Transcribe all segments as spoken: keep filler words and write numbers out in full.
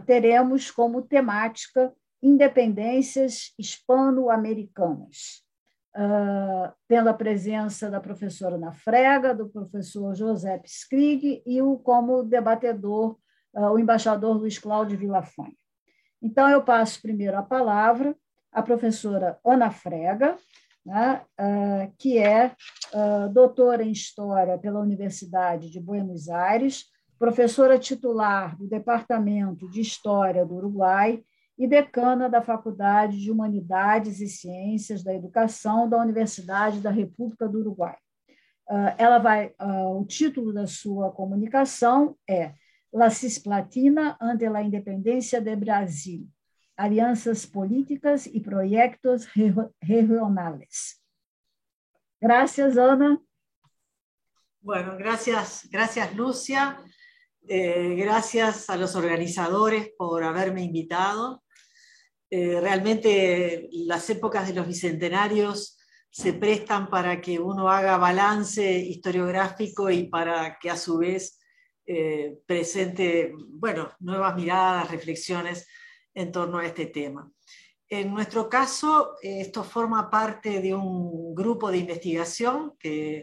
teremos como temática independências hispano-americanas, uh, tendo a presença da professora Ana Frega, do professor José Skrig e o, como debatedor uh, o embaixador Luiz Cláudio Villafañe. Então, eu passo primeiro a palavra à professora Ana Frega, né, uh, que é uh, doutora em História pela Universidade de Buenos Aires, professora titular do Departamento de História do Uruguai e decana da Faculdade de Humanidades e Ciências da Educação da Universidade da República do Uruguai. Uh, ela vai, uh, o título da sua comunicação é La Cisplatina ante la Independencia de Brasil, alianzas políticas y proyectos regionales. Gracias, Ana. Bueno, gracias, gracias Lucia. Eh, gracias a los organizadores por haberme invitado. Eh, realmente las épocas de los bicentenarios se prestan para que uno haga balance historiográfico y para que a su vez eh, presente, bueno, nuevas miradas, reflexiones en torno a este tema. En nuestro caso, esto forma parte de un grupo de investigación que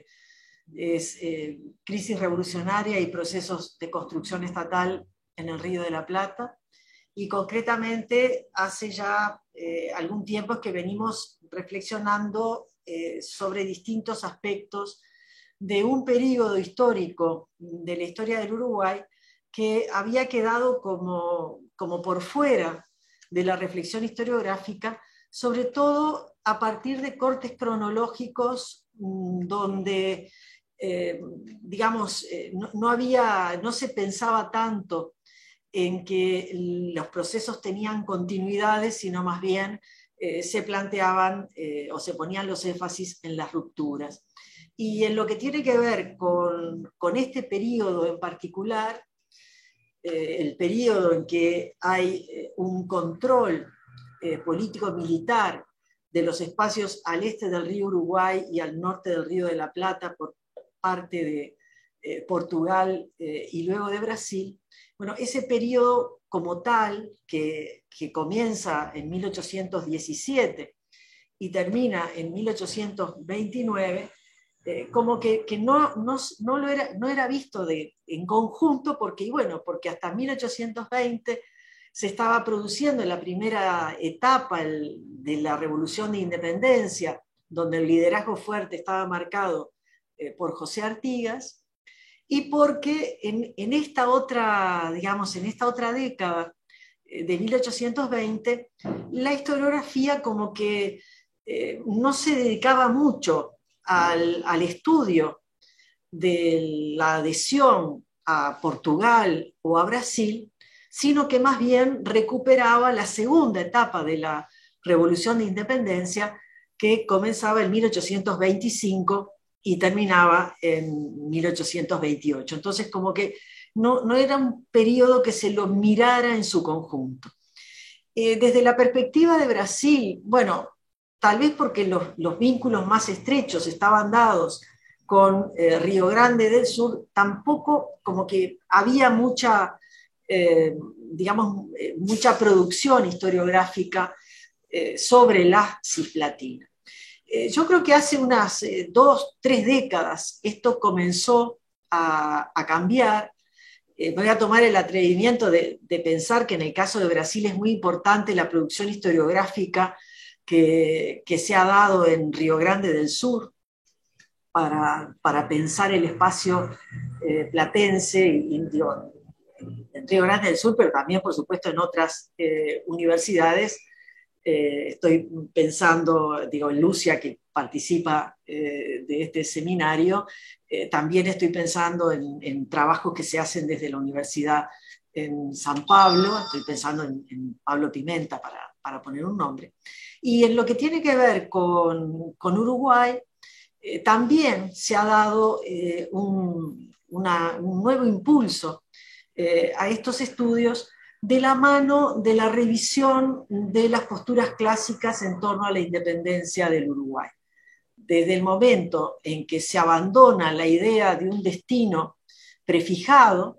es eh, Crisis Revolucionaria y Procesos de Construcción Estatal en el Río de la Plata, y concretamente hace ya eh, algún tiempo que venimos reflexionando eh, sobre distintos aspectos de un periodo histórico de la historia del Uruguay que había quedado como, como por fuera de la reflexión historiográfica, sobre todo a partir de cortes cronológicos donde, eh, digamos, eh, no, no, había, no se pensaba tanto en que los procesos tenían continuidades, sino más bien eh, se planteaban eh, o se ponían los énfasis en las rupturas. Y en lo que tiene que ver con, con este periodo en particular, eh, el periodo en que hay eh, un control eh, político-militar de los espacios al este del río Uruguay y al norte del río de la Plata por parte de eh, Portugal eh, y luego de Brasil, bueno, ese periodo como tal, que, que comienza en mil ochocientos diecisiete y termina en mil ochocientos veintinueve, eh, como que, que no, no, no, lo era, no era visto de, en conjunto, porque, y bueno, porque hasta mil ochocientos veinte se estaba produciendo la primera etapa el, de la Revolución de Independencia, donde el liderazgo fuerte estaba marcado eh, por José Artigas, y porque en, en esta otra, digamos, en esta otra década eh, de mil ochocientos veinte, la historiografía como que eh, no se dedicaba mucho al, al estudio de la adhesión a Portugal o a Brasil, sino que más bien recuperaba la segunda etapa de la Revolución de Independencia, que comenzaba en mil ochocientos veinticinco y terminaba en mil ochocientos veintiocho. Entonces, como que no, no era un periodo que se lo mirara en su conjunto. Eh, desde la perspectiva de Brasil, bueno, tal vez porque los, los vínculos más estrechos estaban dados con eh, Río Grande del Sur, tampoco como que había mucha, eh, digamos, eh, mucha producción historiográfica eh, sobre la Cisplatina. Eh, yo creo que hace unas eh, dos, tres décadas esto comenzó a, a cambiar. Eh, voy a tomar el atrevimiento de, de pensar que en el caso de Brasil es muy importante la producción historiográfica que, que se ha dado en Río Grande del Sur para, para pensar el espacio eh, platense y, digo, en Río Grande del Sur, pero también, por supuesto, en otras eh, universidades. Eh, estoy pensando, digo, en Lucia, que participa eh, de este seminario. Eh, también estoy pensando en, en trabajos que se hacen desde la universidad en San Pablo. Estoy pensando en, en Pablo Pimenta, para, para poner un nombre. Y en lo que tiene que ver con, con Uruguay, eh, también se ha dado eh, un, una, un nuevo impulso eh, a estos estudios, de la mano de la revisión de las posturas clásicas en torno a la independencia del Uruguay. Desde el momento en que se abandona la idea de un destino prefijado,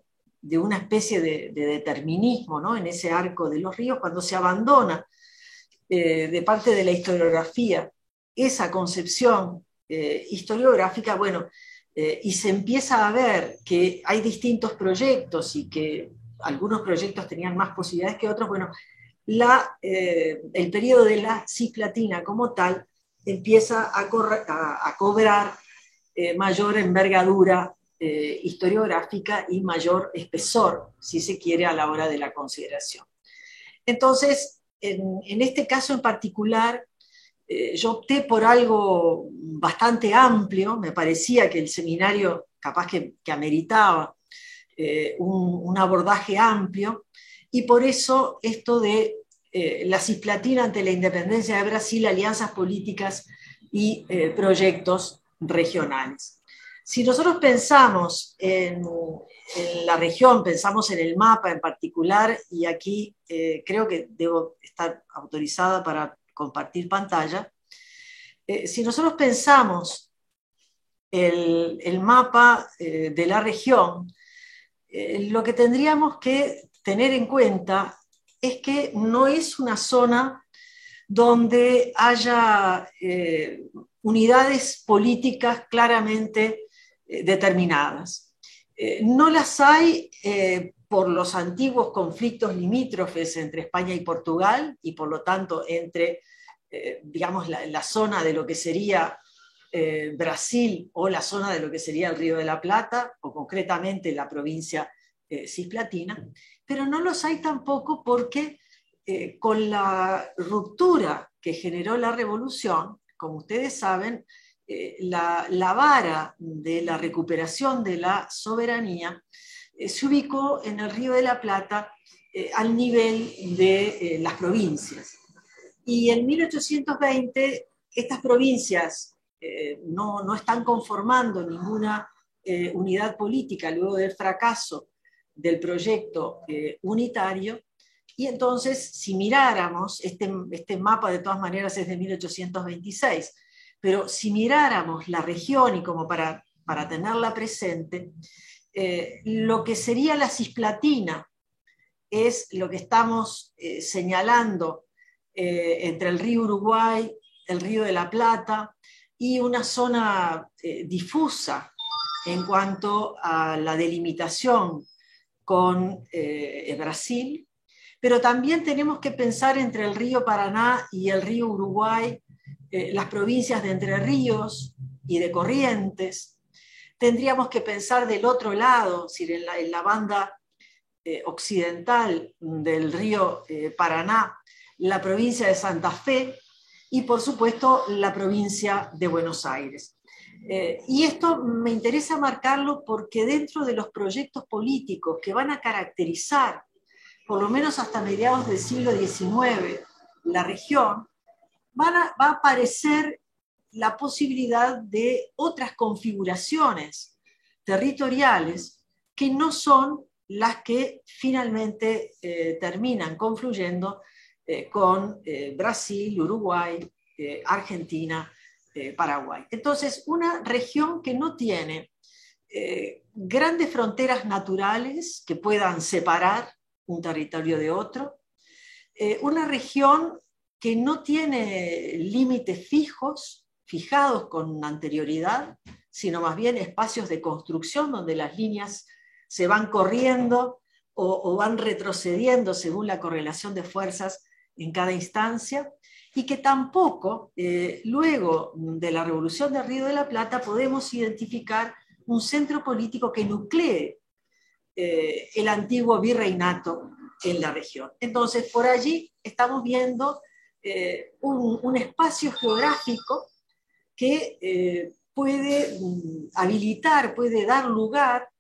de una especie de, de determinismo, ¿no?, en ese arco de los ríos, cuando se abandona eh, de parte de la historiografía esa concepción eh, historiográfica, bueno, eh, y se empieza a ver que hay distintos proyectos y que algunos proyectos tenían más posibilidades que otros, bueno, la, eh, el periodo de la cisplatina como tal empieza a, correr, a, a cobrar eh, mayor envergadura eh, historiográfica y mayor espesor, si se quiere, a la hora de la consideración. Entonces, en, en este caso en particular, eh, yo opté por algo bastante amplio, me parecía que el seminario capaz que, que ameritaba eh, un, un abordaje amplio, y por eso esto de eh, la cisplatina ante la independencia de Brasil, alianzas políticas y eh, proyectos regionales. Si nosotros pensamos en, en la región, pensamos en el mapa en particular, y aquí eh, creo que debo estar autorizada para compartir pantalla, eh, si nosotros pensamos el, el mapa eh, de la región, eh, lo que tendríamos que tener en cuenta es que no es una zona donde haya eh, unidades políticas claramente eh, determinadas. Eh, no las hay eh, por los antiguos conflictos limítrofes entre España y Portugal, y por lo tanto entre, eh, digamos, la, la zona de lo que sería eh, Brasil o la zona de lo que sería el Río de la Plata, o concretamente la provincia eh, cisplatina, pero no los hay tampoco porque eh, con la ruptura que generó la revolución, como ustedes saben, eh, la, la vara de la recuperación de la soberanía eh, se ubicó en el Río de la Plata eh, al nivel de eh, las provincias. Y en mil ochocientos veinte estas provincias eh, no, no están conformando ninguna eh, unidad política luego del fracaso del proyecto eh, unitario, y entonces si miráramos, este, este mapa de todas maneras es de mil ochocientos veintiséis, pero si miráramos la región y como para, para tenerla presente, eh, lo que sería la cisplatina es lo que estamos eh, señalando eh, entre el río Uruguay, el río de la Plata, y una zona eh, difusa en cuanto a la delimitación con eh, Brasil, pero también tenemos que pensar entre el río Paraná y el río Uruguay, eh, las provincias de Entre Ríos y de Corrientes. Tendríamos que pensar del otro lado, es decir, en la, en la banda eh, occidental del río eh, Paraná, la provincia de Santa Fe y, por supuesto, la provincia de Buenos Aires. Eh, y esto me interesa marcarlo porque dentro de los proyectos políticos que van a caracterizar, por lo menos hasta mediados del siglo diecinueve, la región, van a, va a aparecer la posibilidad de otras configuraciones territoriales que no son las que finalmente eh, terminan confluyendo eh, con eh, Brasil, Uruguay, eh, Argentina, eh, Paraguay. Entonces, una región que no tiene eh, grandes fronteras naturales que puedan separar un territorio de otro, eh, una región que no tiene límites fijos, fijados con anterioridad, sino más bien espacios de construcción donde las líneas se van corriendo o, o van retrocediendo según la correlación de fuerzas en cada instancia, y que tampoco, eh, luego de la Revolución del Río de la Plata, podemos identificar un centro político que nuclee eh, el antiguo virreinato en la región. Entonces, por allí estamos viendo eh, un, un espacio geográfico que eh, puede mm, habilitar, puede dar lugar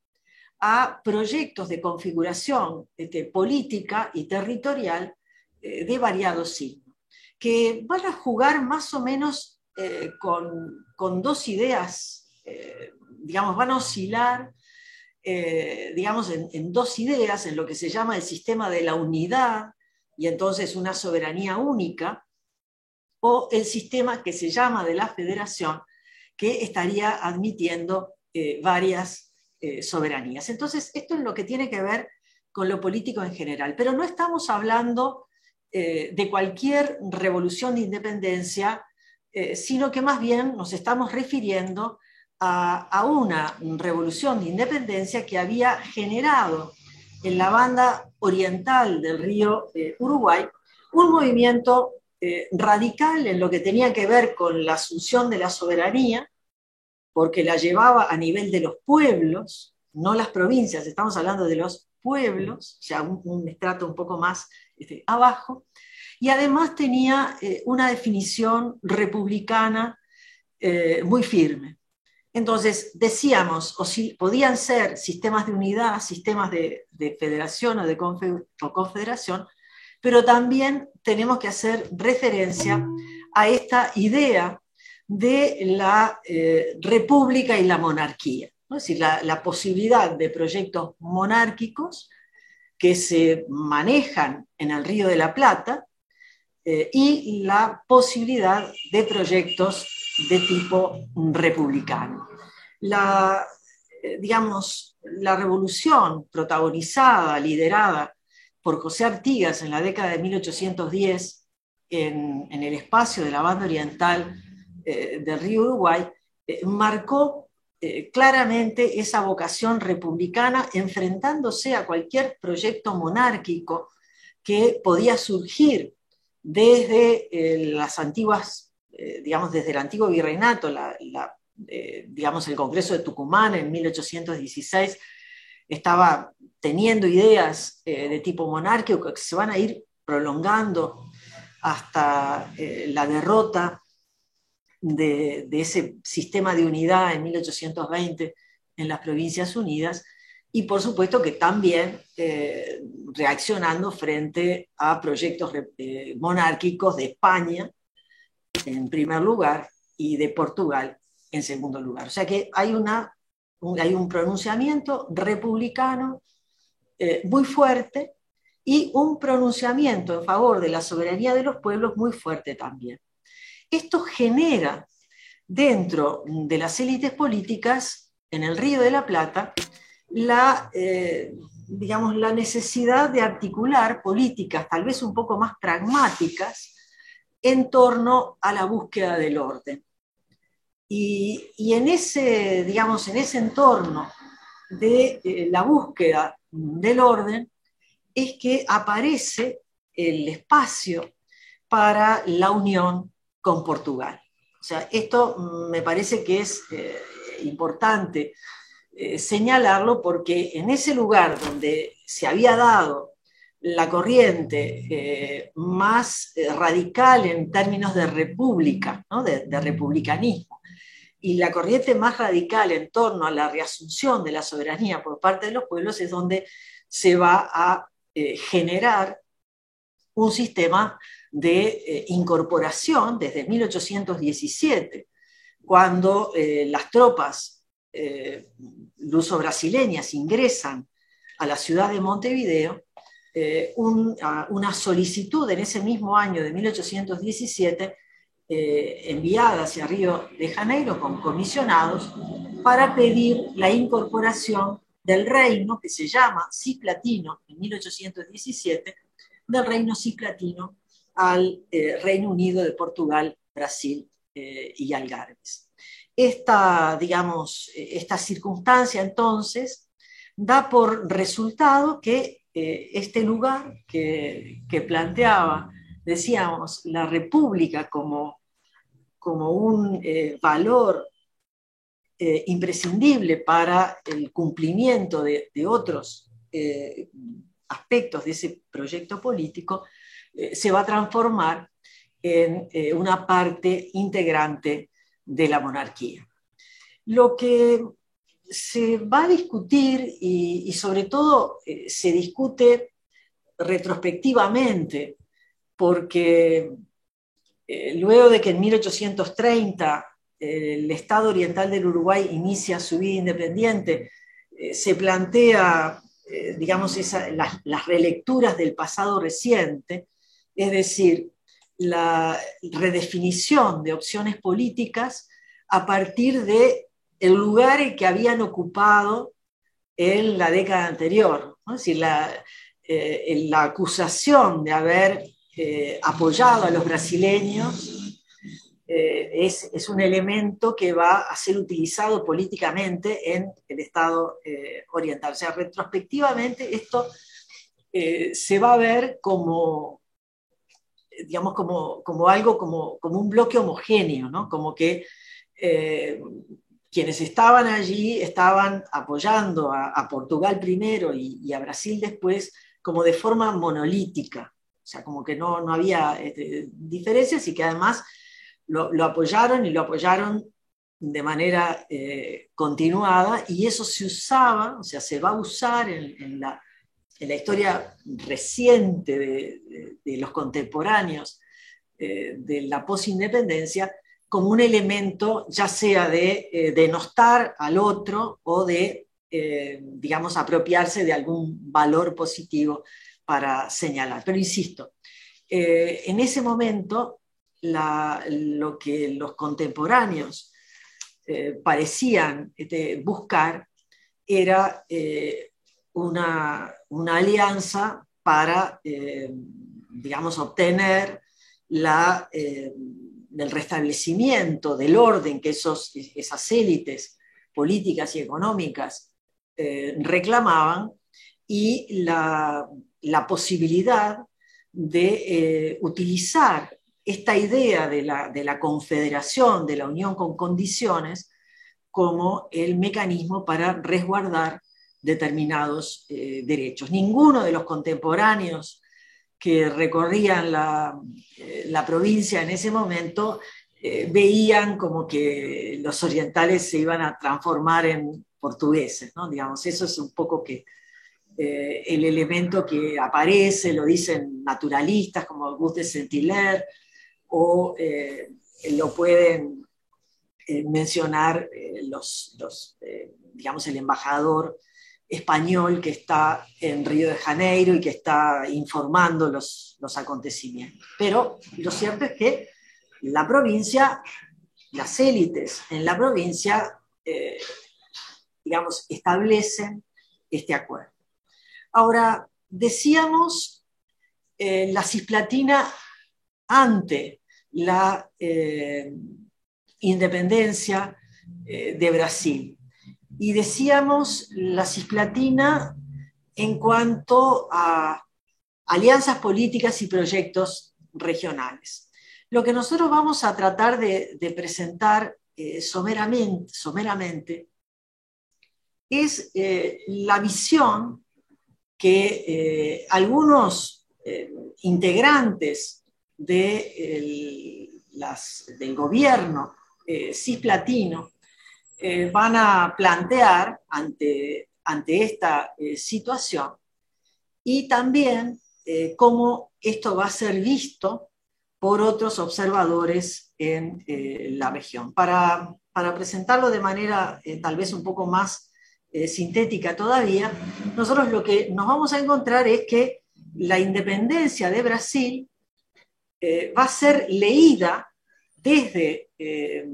a proyectos de configuración este, política y territorial eh, de variados signos, que van a jugar más o menos eh, con, con dos ideas, eh, digamos, van a oscilar eh, digamos, en, en dos ideas, en lo que se llama el sistema de la unidad, y entonces una soberanía única, o el sistema que se llama de la federación, que estaría admitiendo eh, varias eh, soberanías. Entonces, esto es lo que tiene que ver con lo político en general, pero no estamos hablando eh, de cualquier revolución de independencia, eh, sino que más bien nos estamos refiriendo a, a una revolución de independencia que había generado en la banda oriental del río eh, Uruguay un movimiento eh, radical en lo que tenía que ver con la asunción de la soberanía, porque la llevaba a nivel de los pueblos, no las provincias, estamos hablando de los pueblos, o sea, un, un estrato un poco más este, abajo, y además tenía eh, una definición republicana eh, muy firme. Entonces, decíamos, o si podían ser sistemas de unidad, sistemas de, de federación o de confe, o confederación, pero también tenemos que hacer referencia a esta idea de la eh, república y la monarquía, ¿no? Es decir, la, la posibilidad de proyectos monárquicos que se manejan en el Río de la Plata eh, y la posibilidad de proyectos de tipo republicano. La, eh, digamos, la revolución protagonizada, liderada por José Artigas en la década de mil ochocientos diez en, en el espacio de la banda oriental eh, del río Uruguay, eh, marcó eh, claramente esa vocación republicana, enfrentándose a cualquier proyecto monárquico que podía surgir desde eh, las antiguas, eh, digamos, desde el antiguo virreinato, la, la, eh, digamos, el Congreso de Tucumán en mil ochocientos dieciséis estaba teniendo ideas eh, de tipo monárquico que se van a ir prolongando hasta eh, la derrota de, de ese sistema de unidad en mil ochocientos veinte en las Provincias Unidas, y por supuesto que también eh, reaccionando frente a proyectos eh, monárquicos de España en primer lugar y de Portugal en segundo lugar. O sea que hay, una, un, hay un pronunciamiento republicano eh, muy fuerte y un pronunciamiento en favor de la soberanía de los pueblos muy fuerte también. Esto genera dentro de las élites políticas en el Río de la Plata la, eh, digamos, la necesidad de articular políticas tal vez un poco más pragmáticas en torno a la búsqueda del orden. Y, y en, ese, digamos, en ese entorno de eh, la búsqueda del orden es que aparece el espacio para la unión con Portugal. O sea, esto me parece que es eh, importante eh, señalarlo porque en ese lugar donde se había dado la corriente eh, más eh, radical en términos de república, ¿no? de, de republicanismo, y la corriente más radical en torno a la reasunción de la soberanía por parte de los pueblos es donde se va a eh, generar un sistema de eh, incorporación desde mil ochocientos diecisiete, cuando eh, las tropas eh, luso-brasileñas ingresan a la ciudad de Montevideo, eh, un, a, una solicitud en ese mismo año de mil ochocientos diecisiete eh, enviada hacia Río de Janeiro con comisionados para pedir la incorporación del reino que se llama Cislatino en mil ochocientos diecisiete, del reino cislatino al eh, Reino Unido de Portugal, Brasil eh, y Algarves. Esta, digamos, esta circunstancia entonces da por resultado que eh, este lugar que, que planteaba, decíamos, la república como, como un eh, valor eh, imprescindible para el cumplimiento de, de otros eh, aspectos de ese proyecto político, eh, se va a transformar en eh, una parte integrante de la monarquía. Lo que se va a discutir y, y sobre todo eh, se discute retrospectivamente, porque eh, luego de que en mil ochocientos treinta eh, el Estado Oriental del Uruguay inicia su vida independiente, eh, se plantea Eh, digamos, esa, las, las relecturas del pasado reciente, es decir, la redefinición de opciones políticas a partir de el lugar que habían ocupado en la década anterior, ¿no? Es decir, la, eh, la acusación de haber eh, apoyado a los brasileños eh, es, es un elemento que va a ser utilizado políticamente en el Estado eh, oriental. O sea, retrospectivamente esto eh, se va a ver como, digamos, como, como algo, como, como un bloque homogéneo, ¿no? Como que eh, quienes estaban allí estaban apoyando a, a Portugal primero y, y a Brasil después como de forma monolítica. O sea, como que no, no había este, diferencias y que además lo, lo apoyaron y lo apoyaron de manera eh, continuada, y eso se usaba, o sea, se va a usar en, en, la, en la historia reciente de, de, de los contemporáneos eh, de la posindependencia como un elemento ya sea de eh, denostar al otro o de, eh, digamos, apropiarse de algún valor positivo para señalar. Pero insisto, eh, en ese momento la, lo que los contemporáneos eh, parecían este, buscar era eh, una, una alianza para, eh, digamos, obtener la, eh, el restablecimiento del orden que esos, esas élites políticas y económicas eh, reclamaban, y la, la posibilidad de eh, utilizar esta idea de la, de la confederación, de la unión con condiciones, como el mecanismo para resguardar determinados eh, derechos. Ninguno de los contemporáneos que recorrían la, eh, la provincia en ese momento eh, veían como que los orientales se iban a transformar en portugueses, ¿no? Digamos, eso es un poco que eh, el elemento que aparece, lo dicen naturalistas como Auguste de Saint-Hilaire, o eh, lo pueden eh, mencionar eh, los, los eh, digamos, el embajador español que está en Río de Janeiro y que está informando los, los acontecimientos. Pero lo cierto es que la provincia, las élites en la provincia, eh, digamos, establecen este acuerdo. Ahora, decíamos eh, la Cisplatina ante la eh, independencia eh, de Brasil. Y decíamos la Cisplatina en cuanto a alianzas políticas y proyectos regionales. Lo que nosotros vamos a tratar de, de presentar eh, someramente, someramente es eh, la visión que eh, algunos eh, integrantes de el, las, del gobierno eh, cisplatino eh, van a plantear ante, ante esta eh, situación, y también eh, cómo esto va a ser visto por otros observadores en eh, la región. Para, para presentarlo de manera eh, tal vez un poco más eh, sintética todavía, nosotros lo que nos vamos a encontrar es que la independencia de Brasil eh, va a ser leída desde eh,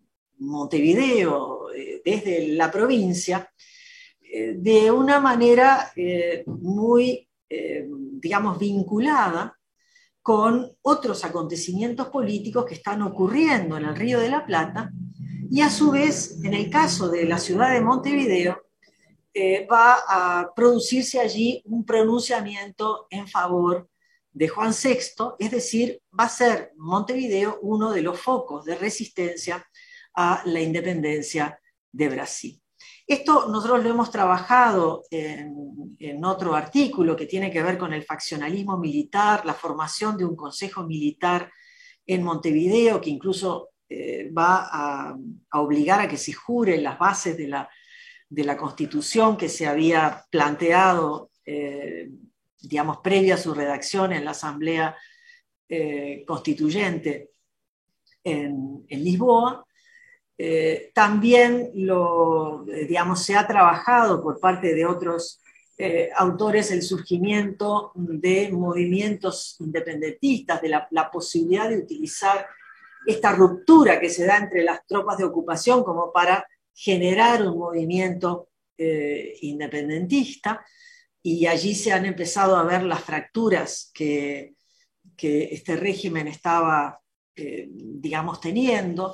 Montevideo, eh, desde la provincia, eh, de una manera eh, muy, eh, digamos, vinculada con otros acontecimientos políticos que están ocurriendo en el Río de la Plata, y a su vez, en el caso de la ciudad de Montevideo, eh, va a producirse allí un pronunciamiento en favor de Juan sexto, es decir, va a ser Montevideo uno de los focos de resistencia a la independencia de Brasil. Esto nosotros lo hemos trabajado en, en otro artículo que tiene que ver con el faccionalismo militar, la formación de un consejo militar en Montevideo, que incluso eh, va a, a obligar a que se juren las bases de la, de la Constitución que se había planteado, eh, digamos, previa a su redacción en la Asamblea eh, Constituyente en, en Lisboa. Eh, también lo, digamos, se ha trabajado por parte de otros eh, autores el surgimiento de movimientos independentistas, de la, la posibilidad de utilizar esta ruptura que se da entre las tropas de ocupación como para generar un movimiento eh, independentista, y allí se han empezado a ver las fracturas que, que este régimen estaba, eh, digamos, teniendo.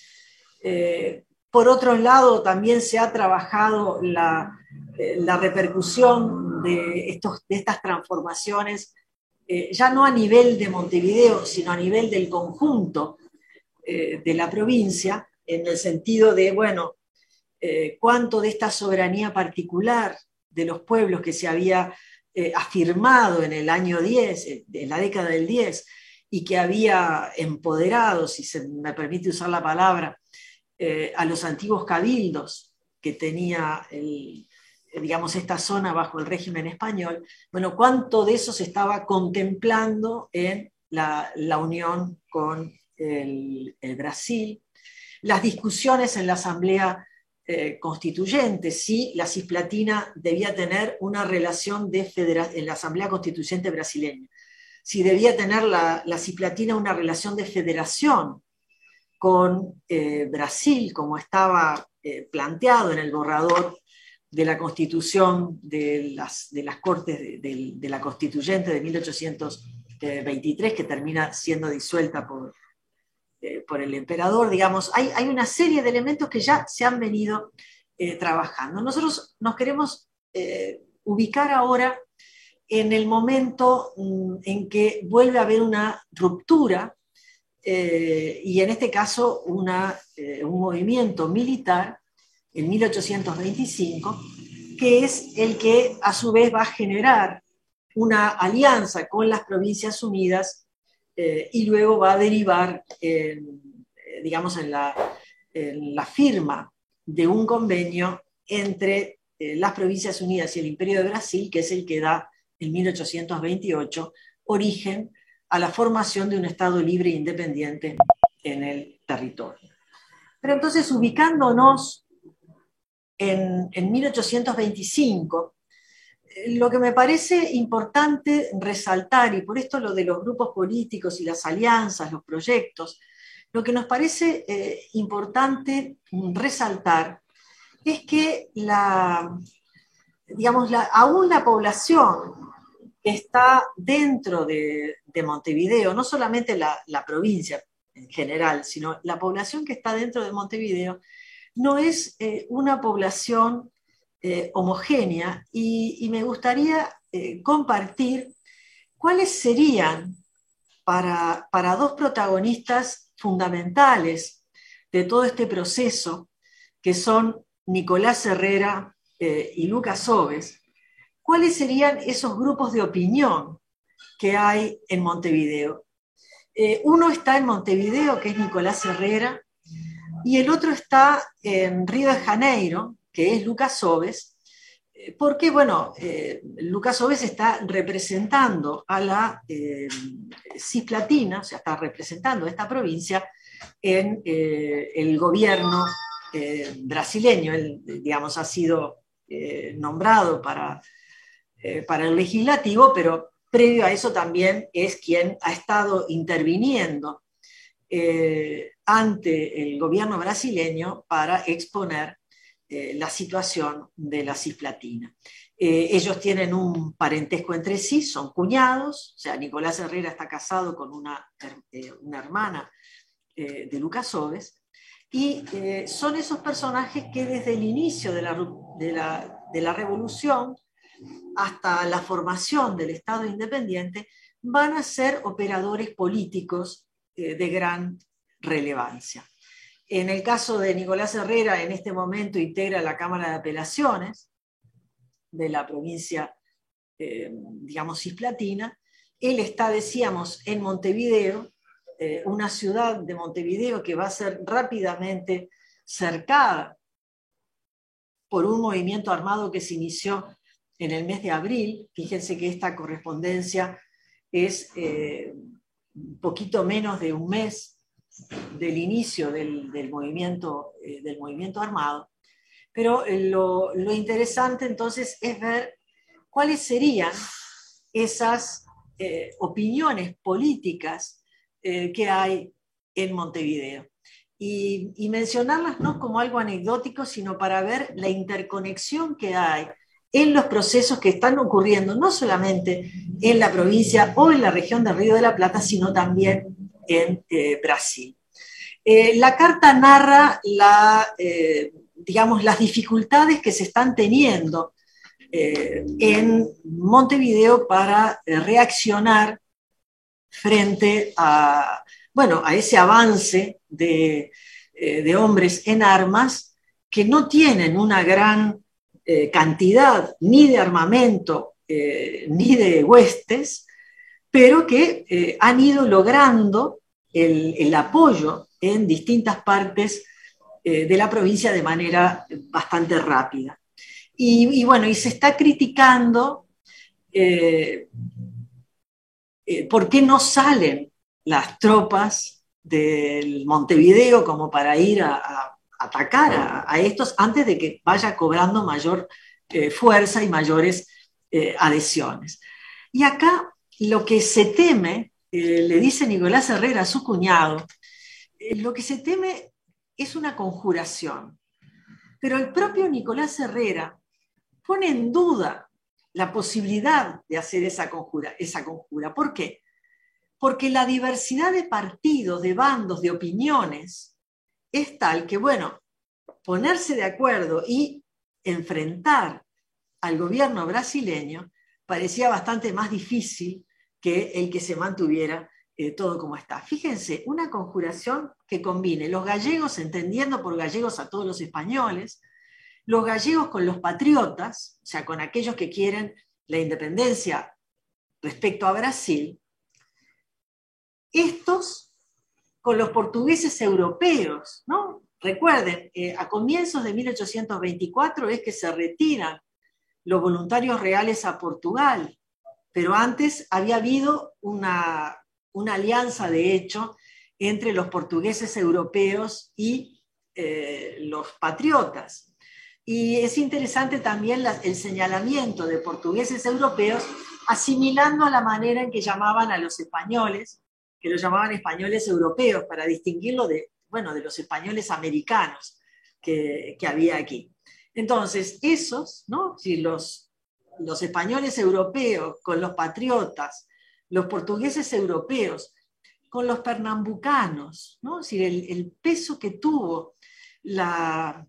Eh, por otro lado, también se ha trabajado la, eh, la repercusión de, estos, de estas transformaciones, eh, ya no a nivel de Montevideo, sino a nivel del conjunto eh, de la provincia, en el sentido de, bueno, eh, cuánto de esta soberanía particular de los pueblos que se había eh, afirmado en el año diez, en la década del diez, y que había empoderado, si se me permite usar la palabra, eh, a los antiguos cabildos que tenía el, digamos, esta zona bajo el régimen español, bueno, cuánto de eso se estaba contemplando en la, la unión con el, el Brasil, las discusiones en la Asamblea eh, Constituyente, si la Cisplatina debía tener una relación de federación, en la Asamblea Constituyente brasileña, si debía tener la, la Cisplatina una relación de federación con eh, Brasil, como estaba eh, planteado en el borrador de la Constitución de las, de las Cortes de, de, de la Constituyente de mil ochocientos veintitrés, que termina siendo disuelta por, eh, por el emperador. Digamos, hay, hay una serie de elementos que ya se han venido eh, trabajando. Nosotros nos queremos eh, ubicar ahora en el momento mm, en que vuelve a haber una ruptura, eh, y en este caso una, eh, un movimiento militar en mil ochocientos veinticinco, que es el que a su vez va a generar una alianza con las Provincias Unidas, eh, y luego va a derivar, eh, digamos, en la, en la firma de un convenio entre eh, las Provincias Unidas y el Imperio de Brasil, que es el que da en mil ochocientos veintiocho origen a la formación de un Estado libre e independiente en el territorio. Pero entonces, ubicándonos en, en mil ochocientos veinticinco, lo que me parece importante resaltar, y por esto lo de los grupos políticos y las alianzas, los proyectos, lo que nos parece eh, importante resaltar es que la, digamos, la, aún la población que está dentro de, de Montevideo, no solamente la, la provincia en general, sino la población que está dentro de Montevideo, no es eh, una población eh, homogénea, y, y me gustaría eh, compartir cuáles serían para, para dos protagonistas fundamentales de todo este proceso, que son Nicolás Herrera eh, y Lucas Oves, cuáles serían esos grupos de opinión que hay en Montevideo. Eh, uno está en Montevideo, que es Nicolás Herrera, y el otro está en Río de Janeiro, que es Lucas Oves, porque, bueno, eh, Lucas Oves está representando a la eh, Cisplatina, o sea, está representando a esta provincia en eh, el gobierno eh, brasileño. Él, digamos, ha sido eh, nombrado para, eh, para el legislativo, pero previo a eso también es quien ha estado interviniendo eh, ante el gobierno brasileño para exponer eh, la situación de la Cisplatina. Eh, ellos tienen un parentesco entre sí, son cuñados, o sea, Nicolás Herrera está casado con una, eh, una hermana eh, de Lucas Oves, y eh, son esos personajes que desde el inicio de la, de, la, de la revolución hasta la formación del Estado independiente van a ser operadores políticos eh, de gran relevancia. En el caso de Nicolás Herrera, en este momento integra la Cámara de Apelaciones de la provincia, eh, digamos, cisplatina. Él está, decíamos, en Montevideo, eh, una ciudad de Montevideo que va a ser rápidamente cercada por un movimiento armado que se inició en el mes de abril. Fíjense que esta correspondencia es eh, un poquito menos de un mes del inicio del, del, movimiento, eh, del movimiento armado. Pero lo, lo interesante entonces es ver cuáles serían esas eh, opiniones políticas eh, que hay en Montevideo. y, y mencionarlas no como algo anecdótico, sino para ver la interconexión que hay en los procesos que están ocurriendo, no solamente en la provincia o en la región del Río de la Plata, sino también en eh, Brasil. Eh, la carta narra la, eh, digamos, las dificultades que se están teniendo eh, en Montevideo para eh, reaccionar frente a, bueno, a ese avance de, eh, de hombres en armas que no tienen una gran eh, cantidad ni de armamento eh, ni de huestes, pero que eh, han ido logrando el, el apoyo en distintas partes eh, de la provincia de manera bastante rápida. Y, y bueno, y se está criticando eh, eh, por qué no salen las tropas del Montevideo como para ir a, a atacar a, a, estos antes de que vaya cobrando mayor eh, fuerza y mayores eh, adhesiones. Y acá lo que se teme, eh, le dice Nicolás Herrera a su cuñado, eh, lo que se teme es una conjuración. Pero el propio Nicolás Herrera pone en duda la posibilidad de hacer esa conjura, esa conjura. ¿Por qué? Porque la diversidad de partidos, de bandos, de opiniones es tal que, bueno, ponerse de acuerdo y enfrentar al gobierno brasileño parecía bastante más difícil que el que se mantuviera eh, todo como está. Fíjense, una conjuración que combine los gallegos, entendiendo por gallegos a todos los españoles, los gallegos con los patriotas, o sea, con aquellos que quieren la independencia respecto a Brasil, estos con los portugueses europeos, ¿no? Recuerden, eh, a comienzos de mil ochocientos veinticuatro es que se retiran los voluntarios reales a Portugal, pero antes había habido una, una alianza, de hecho, entre los portugueses europeos y eh, los patriotas. Y es interesante también la, el señalamiento de portugueses europeos asimilando a la manera en que llamaban a los españoles, que los llamaban españoles europeos, para distinguirlo de, bueno, de los españoles americanos que, que había aquí. Entonces, esos, ¿no? Si los, los españoles europeos con los patriotas, los portugueses europeos con los pernambucanos, ¿no? Es decir, el, el peso que tuvo la,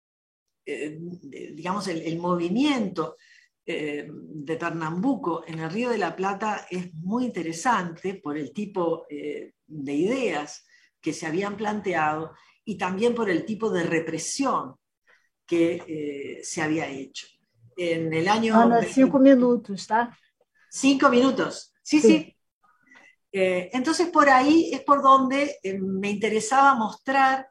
eh, digamos, el, el movimiento eh, de Pernambuco en el Río de la Plata es muy interesante por el tipo eh, de ideas que se habían planteado y también por el tipo de represión que eh, se había hecho. En el año... Ana, cinco minutos, ¿tá? Cinco minutos, sí, sí. sí. Eh, entonces por ahí es por donde eh, me interesaba mostrar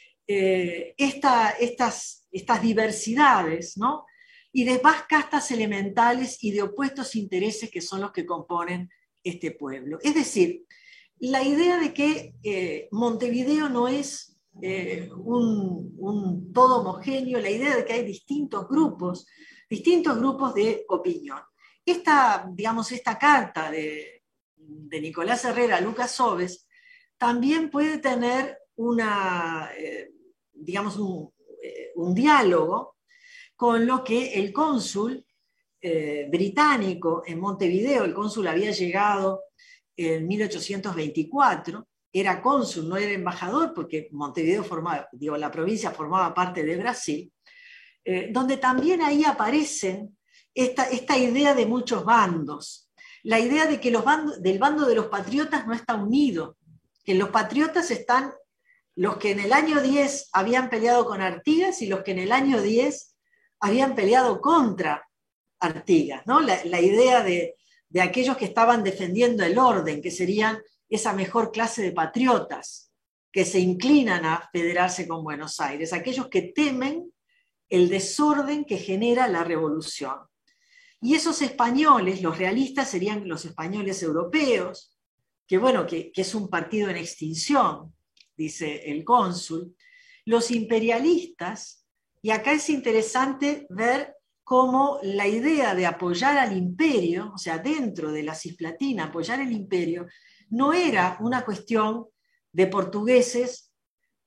eh, esta, estas, estas diversidades, ¿no? Y de más castas elementales y de opuestos intereses que son los que componen este pueblo. Es decir, la idea de que eh, Montevideo no es eh, un, un todo homogéneo, la idea de que hay distintos grupos, distintos grupos de opinión. Esta, digamos, esta carta de, de Nicolás Herrera a Lucas Sobes también puede tener una, eh, digamos, un, eh, un diálogo con lo que el cónsul eh, británico en Montevideo, el cónsul había llegado en mil ochocientos veinticuatro, era cónsul, no era embajador, porque Montevideo formaba, digo, la provincia formaba parte de Brasil, eh, donde también ahí aparecen esta, esta idea de muchos bandos, la idea de que los bandos, del bando de los patriotas no está unido, que los patriotas están los que en el año diez habían peleado con Artigas y los que en el año diez habían peleado contra Artigas, ¿no? La, la idea de, de aquellos que estaban defendiendo el orden, que serían esa mejor clase de patriotas que se inclinan a federarse con Buenos Aires, aquellos que temen el desorden que genera la revolución. Y esos españoles, los realistas, serían los españoles europeos, que bueno, que, que es un partido en extinción, dice el cónsul. Los imperialistas, y acá es interesante ver cómo la idea de apoyar al imperio, o sea, dentro de la Cisplatina, apoyar el imperio, no era una cuestión de portugueses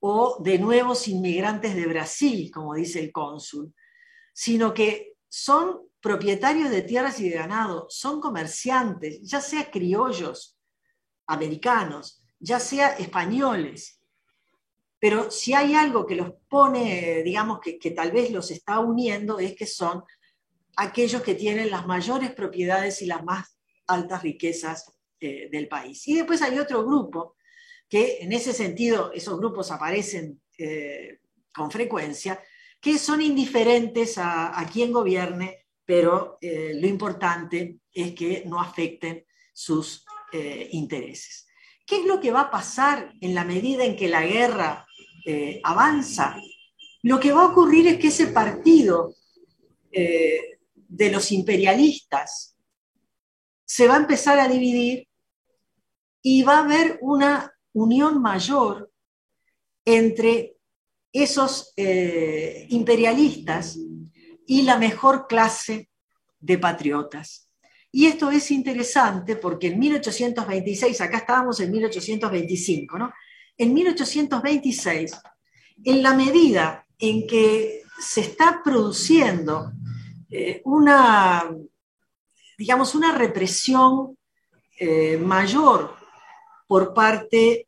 o de nuevos inmigrantes de Brasil, como dice el cónsul, sino que son propietarios de tierras y de ganado, son comerciantes, ya sea criollos americanos, ya sea españoles. Pero si hay algo que los pone, digamos, que, que tal vez los está uniendo, es que son aquellos que tienen las mayores propiedades y las más altas riquezas eh, del país. Y después hay otro grupo, que en ese sentido esos grupos aparecen eh, con frecuencia, que son indiferentes a, a quién gobierne, pero eh, lo importante es que no afecten sus eh, intereses. ¿Qué es lo que va a pasar en la medida en que la guerra eh, avanza? Lo que va a ocurrir es que ese partido eh, de los imperialistas se va a empezar a dividir y va a haber una unión mayor entre esos eh, imperialistas y la mejor clase de patriotas. Y esto es interesante porque en mil ochocientos veintiséis, acá estábamos en mil ochocientos veinticinco, ¿no? En mil ochocientos veintiséis, en la medida en que se está produciendo eh, una, digamos, una represión eh, mayor por parte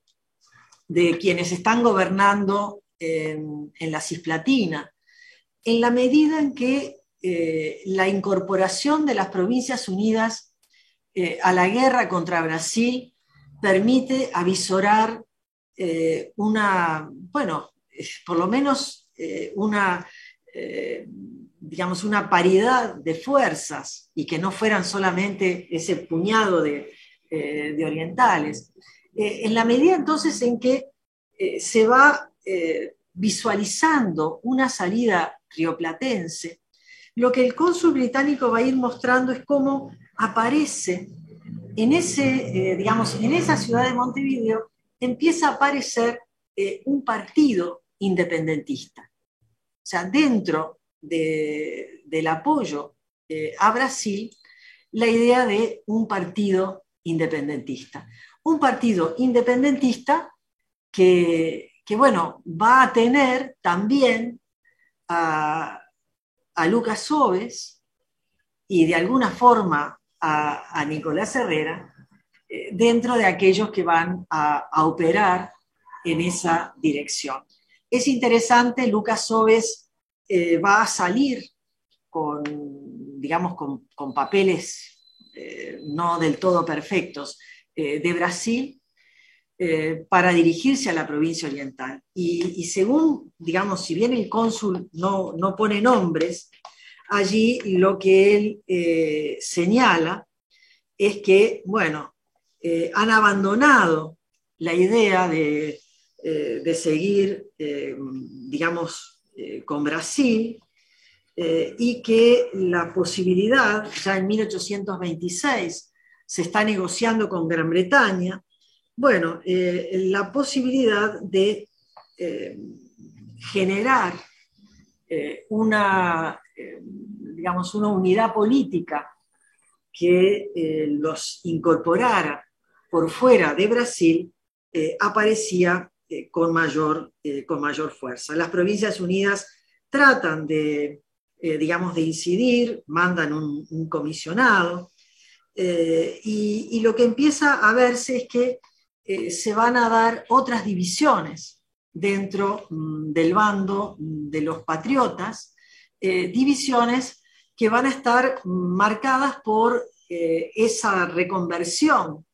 de quienes están gobernando en, en la Cisplatina, en la medida en que eh, la incorporación de las Provincias Unidas eh, a la guerra contra Brasil permite avisorar eh, una, bueno, por lo menos eh, una, eh, digamos, una paridad de fuerzas y que no fueran solamente ese puñado de, eh, de orientales. Eh, en la medida entonces en que eh, se va eh, visualizando una salida rioplatense, lo que el cónsul británico va a ir mostrando es cómo aparece en, ese, eh, digamos, en esa ciudad de Montevideo, empieza a aparecer eh, un partido independentista. O sea, dentro de, del apoyo eh, a Brasil, la idea de un partido independentista. Un partido independentista que, que bueno, va a tener también a, a Lucas Oves y de alguna forma a, a Nicolás Herrera eh, dentro de aquellos que van a, a operar en esa dirección. Es interesante, Lucas Oves eh, va a salir con, digamos, con, con papeles eh, no del todo perfectos eh, de Brasil eh, para dirigirse a la provincia oriental. Y, y según, digamos, si bien el cónsul no, no pone nombres, allí lo que él eh, señala es que, bueno, eh, han abandonado la idea de, eh, de seguir, eh, digamos, eh, con Brasil, eh, y que la posibilidad, ya en mil ochocientos veintiséis, se está negociando con Gran Bretaña, bueno, eh, la posibilidad de eh, generar eh, una, eh, digamos, una unidad política que eh, los incorporara por fuera de Brasil, eh, aparecía eh, con, mayor, eh, con mayor fuerza. Las Provincias Unidas tratan de, eh, digamos, de incidir, mandan un, un comisionado, eh, y, y lo que empieza a verse es que eh, se van a dar otras divisiones dentro mm, del bando de los patriotas, eh, divisiones que van a estar marcadas por eh, esa reconversión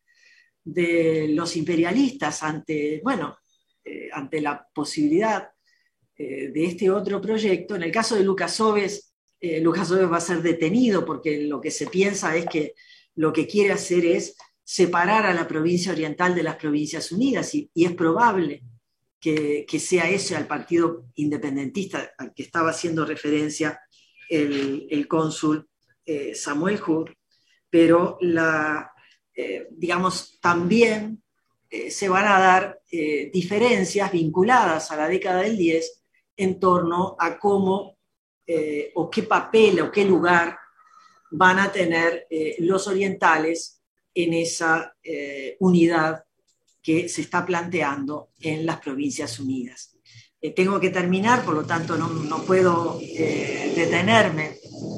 de los imperialistas ante, bueno, eh, ante la posibilidad eh, de este otro proyecto. En el caso de Lucas Oves, eh, Lucas Oves va a ser detenido porque lo que se piensa es que lo que quiere hacer es separar a la provincia oriental de las Provincias Unidas, y, y es probable que, que sea ese al partido independentista al que estaba haciendo referencia el, el cónsul eh, Samuel Hood, pero la, eh, digamos, también eh, se van a dar eh, diferencias vinculadas a la década del diez en torno a cómo eh, o qué papel o qué lugar van a tener eh, los orientales en esa eh, unidad que se está planteando en las Provincias Unidas. Eh, tengo que terminar, por lo tanto no, no puedo eh, detenerme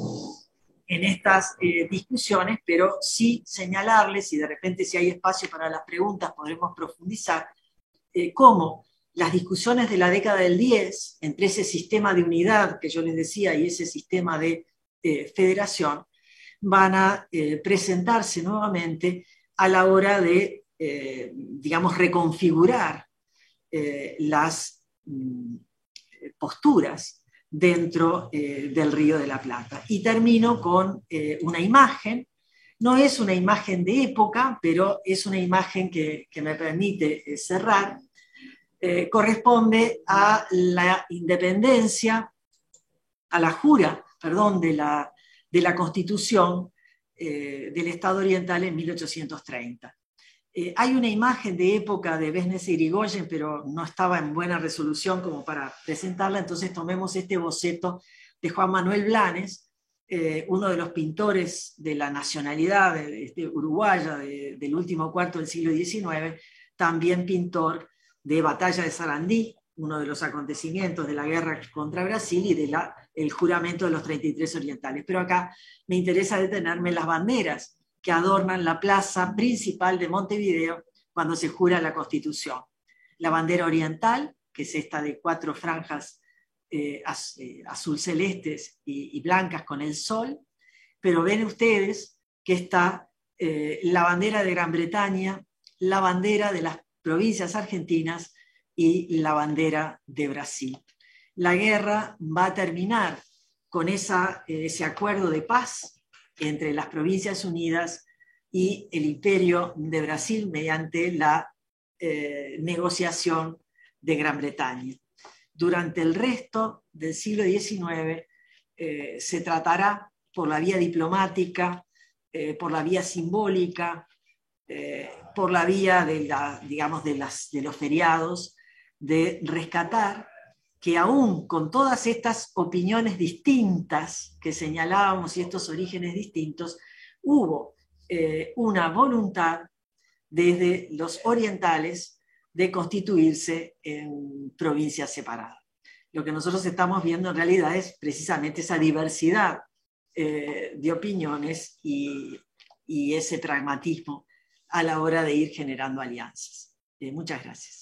en estas eh, discusiones, pero sí señalarles, y de repente si hay espacio para las preguntas podremos profundizar, eh, cómo las discusiones de la década del diez, entre ese sistema de unidad que yo les decía y ese sistema de eh, federación, van a eh, presentarse nuevamente a la hora de, eh, digamos, reconfigurar eh, las mm, posturas dentro eh, del Río de la Plata. Y termino con eh, una imagen. No es una imagen de época, pero es una imagen que, que me permite eh, cerrar. Eh, corresponde a la independencia, a la jura, perdón, de la, de la Constitución eh, del Estado Oriental en mil ochocientos treinta. Eh, hay una imagen de época de Besnes y Irigoyen, pero no estaba en buena resolución como para presentarla, entonces tomemos este boceto de Juan Manuel Blanes, eh, uno de los pintores de la nacionalidad de, de uruguaya de, del último cuarto del siglo diecinueve, también pintor de Batalla de Sarandí, uno de los acontecimientos de la guerra contra Brasil y del de juramento de los treinta y tres orientales. Pero acá me interesa detenerme en las banderas que adornan la plaza principal de Montevideo cuando se jura la Constitución. La bandera oriental, que es esta de cuatro franjas eh, az, eh, azul celestes y, y blancas con el sol, pero ven ustedes que está eh, la bandera de Gran Bretaña, la bandera de las provincias argentinas y la bandera de Brasil. La guerra va a terminar con esa, ese acuerdo de paz entre las Provincias Unidas y el Imperio de Brasil mediante la eh, negociación de Gran Bretaña. Durante el resto del siglo diecinueve eh, se tratará por la vía diplomática, eh, por la vía simbólica, eh, por la vía de, la, digamos, de, las, de los feriados, de rescatar que aún con todas estas opiniones distintas que señalábamos y estos orígenes distintos, hubo eh, una voluntad desde los orientales de constituirse en provincias separadas. Lo que nosotros estamos viendo en realidad es precisamente esa diversidad eh, de opiniones y, y ese pragmatismo a la hora de ir generando alianzas. Eh, muchas gracias.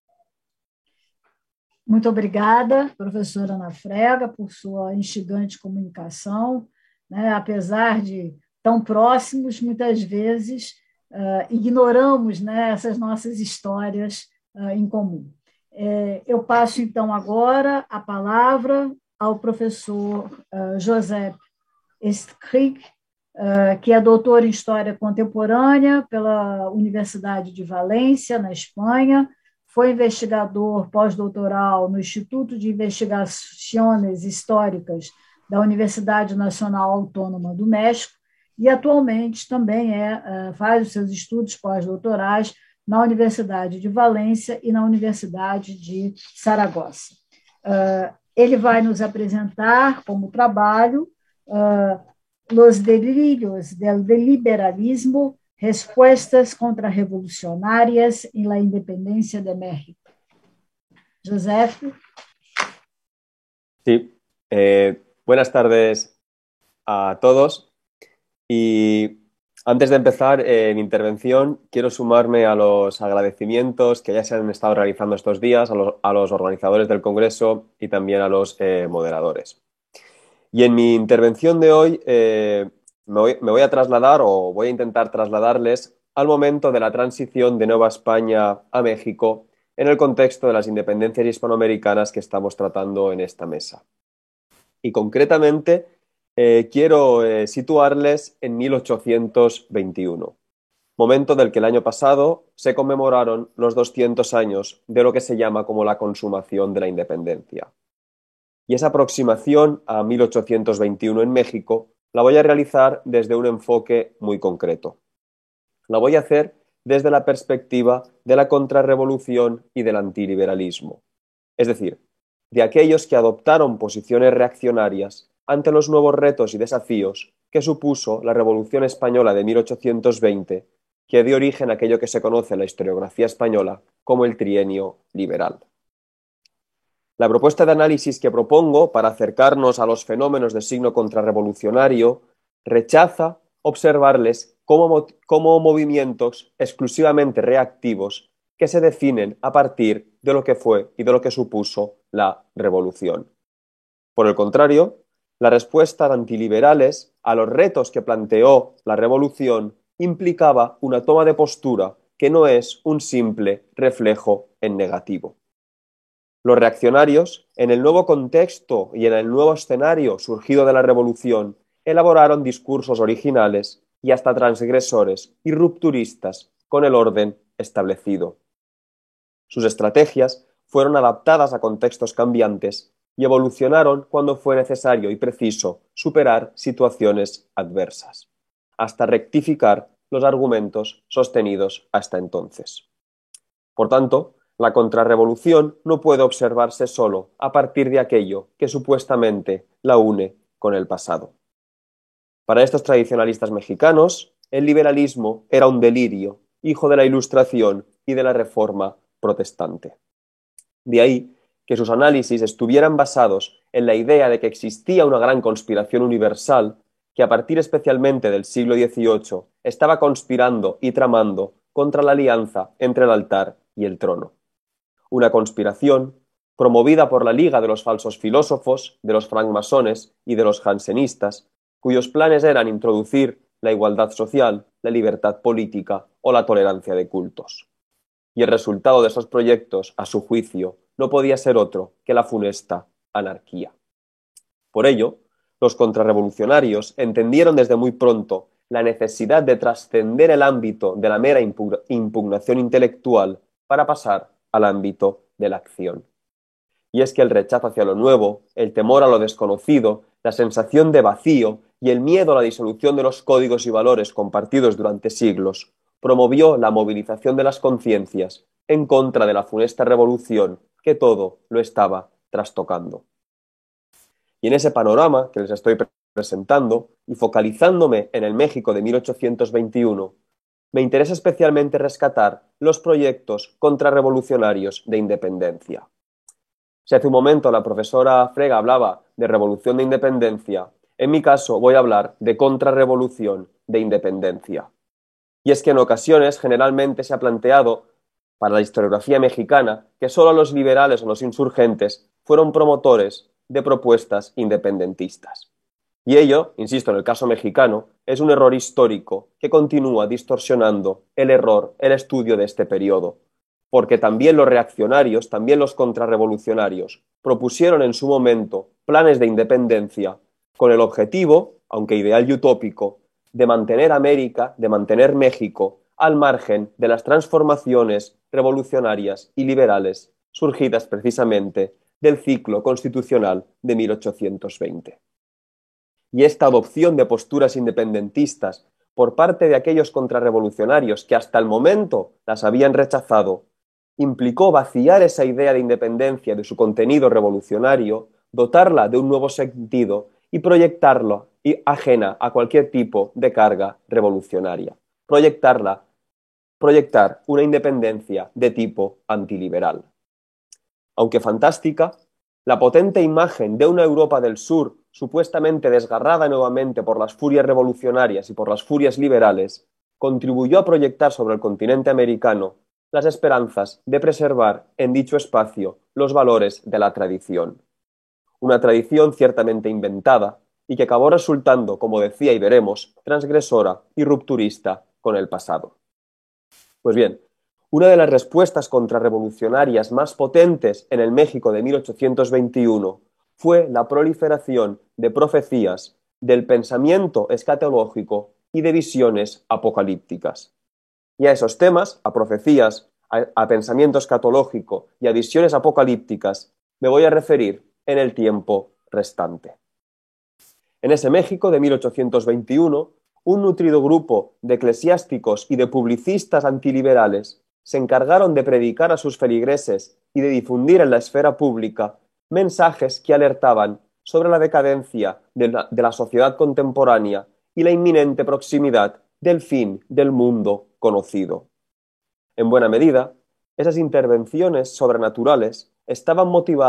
Muito obrigada, professora Ana Frega, por sua instigante comunicação. Né? Apesar de tão próximos, muitas vezes uh, ignoramos, né, essas nossas histórias uh, em comum. É, eu passo, então, agora a palavra ao professor uh, José Estcric, uh, que é doutor em História Contemporânea pela Universidade de Valência, na Espanha. Foi investigador pós-doutoral no Instituto de Investigações Históricas da Universidade Nacional Autônoma do México e atualmente também é, faz os seus estudos pós-doutorais na Universidade de Valência e na Universidade de Saragossa. Ele vai nos apresentar como trabalho Los delirios del liberalismo, respuestas contrarrevolucionarias en la independencia de México. Joseph. Sí, eh, buenas tardes a todos. Y antes de empezar eh, mi intervención, quiero sumarme a los agradecimientos que ya se han estado realizando estos días a los, a los organizadores del Congreso y también a los eh, moderadores. Y en mi intervención de hoy eh, me, voy, me voy a trasladar o voy a intentar trasladarles al momento de la transición de Nueva España a México en el contexto de las independencias hispanoamericanas que estamos tratando en esta mesa. Y concretamente eh, quiero eh, situarles en mil ochocientos veintiuno, momento del que el año pasado se conmemoraron los doscientos años de lo que se llama como la consumación de la independencia. Y esa aproximación a mil ochocientos veintiuno en México la voy a realizar desde un enfoque muy concreto. La voy a hacer desde la perspectiva de la contrarrevolución y del antiliberalismo. Es decir, de aquellos que adoptaron posiciones reaccionarias ante los nuevos retos y desafíos que supuso la Revolución Española de mil ochocientos veinte, que dio origen a aquello que se conoce en la historiografía española como el trienio liberal. La propuesta de análisis que propongo para acercarnos a los fenómenos de signo contrarrevolucionario rechaza observarles como, como movimientos exclusivamente reactivos que se definen a partir de lo que fue y de lo que supuso la revolución. Por el contrario, la respuesta de antiliberales a los retos que planteó la revolución implicaba una toma de postura que no es un simple reflejo en negativo. Los reaccionarios, en el nuevo contexto y en el nuevo escenario surgido de la revolución, elaboraron discursos originales y hasta transgresores y rupturistas con el orden establecido. Sus estrategias fueron adaptadas a contextos cambiantes y evolucionaron cuando fue necesario y preciso superar situaciones adversas, hasta rectificar los argumentos sostenidos hasta entonces. Por tanto, la contrarrevolución no puede observarse solo a partir de aquello que supuestamente la une con el pasado. Para estos tradicionalistas mexicanos, el liberalismo era un delirio, hijo de la Ilustración y de la Reforma protestante. De ahí que sus análisis estuvieran basados en la idea de que existía una gran conspiración universal que a partir especialmente del siglo dieciocho estaba conspirando y tramando contra la alianza entre el altar y el trono. Una conspiración promovida por la Liga de los Falsos Filósofos, de los francmasones y de los jansenistas, cuyos planes eran introducir la igualdad social, la libertad política o la tolerancia de cultos. Y el resultado de esos proyectos, a su juicio, no podía ser otro que la funesta anarquía. Por ello, los contrarrevolucionarios entendieron desde muy pronto la necesidad de trascender el ámbito de la mera impugnación intelectual para pasar al ámbito de la acción. Y es que el rechazo hacia lo nuevo, el temor a lo desconocido, la sensación de vacío y el miedo a la disolución de los códigos y valores compartidos durante siglos promovió la movilización de las conciencias en contra de la funesta revolución que todo lo estaba trastocando. Y en ese panorama que les estoy presentando, y focalizándome en el México de mil ochocientos veintiuno, me interesa especialmente rescatar los proyectos contrarrevolucionarios de independencia. Si hace un momento la profesora Frega hablaba de revolución de independencia, en mi caso voy a hablar de contrarrevolución de independencia. Y es que en ocasiones generalmente se ha planteado para la historiografía mexicana que solo los liberales o los insurgentes fueron promotores de propuestas independentistas. Y ello, insisto, en el caso mexicano, es un error histórico que continúa distorsionando el error, el estudio de este periodo, porque también los reaccionarios, también los contrarrevolucionarios, propusieron en su momento planes de independencia con el objetivo, aunque ideal y utópico, de mantener América, de mantener México, al margen de las transformaciones revolucionarias y liberales surgidas precisamente del ciclo constitucional de mil ochocientos veinte. Y esta adopción de posturas independentistas por parte de aquellos contrarrevolucionarios que hasta el momento las habían rechazado, implicó vaciar esa idea de independencia de su contenido revolucionario, dotarla de un nuevo sentido y proyectarlo y ajena a cualquier tipo de carga revolucionaria. Proyectarla, proyectar una independencia de tipo antiliberal. Aunque fantástica, la potente imagen de una Europa del Sur supuestamente desgarrada nuevamente por las furias revolucionarias y por las furias liberales, contribuyó a proyectar sobre el continente americano las esperanzas de preservar en dicho espacio los valores de la tradición. Una tradición ciertamente inventada y que acabó resultando, como decía y veremos, transgresora y rupturista con el pasado. Pues bien, una de las respuestas contrarrevolucionarias más potentes en el México de mil ochocientos veintiuno fue la proliferación de profecías, del pensamiento escatológico y de visiones apocalípticas. Y a esos temas, a profecías, a, a pensamiento escatológico y a visiones apocalípticas, me voy a referir en el tiempo restante. En ese México de mil ochocientos veintiuno, un nutrido grupo de eclesiásticos y de publicistas antiliberales se encargaron de predicar a sus feligreses y de difundir en la esfera pública mensajes que alertaban sobre la decadencia de la, de la sociedad contemporánea y la inminente proximidad del fin del mundo conocido. En buena medida, esas intervenciones sobrenaturales estaban motivadas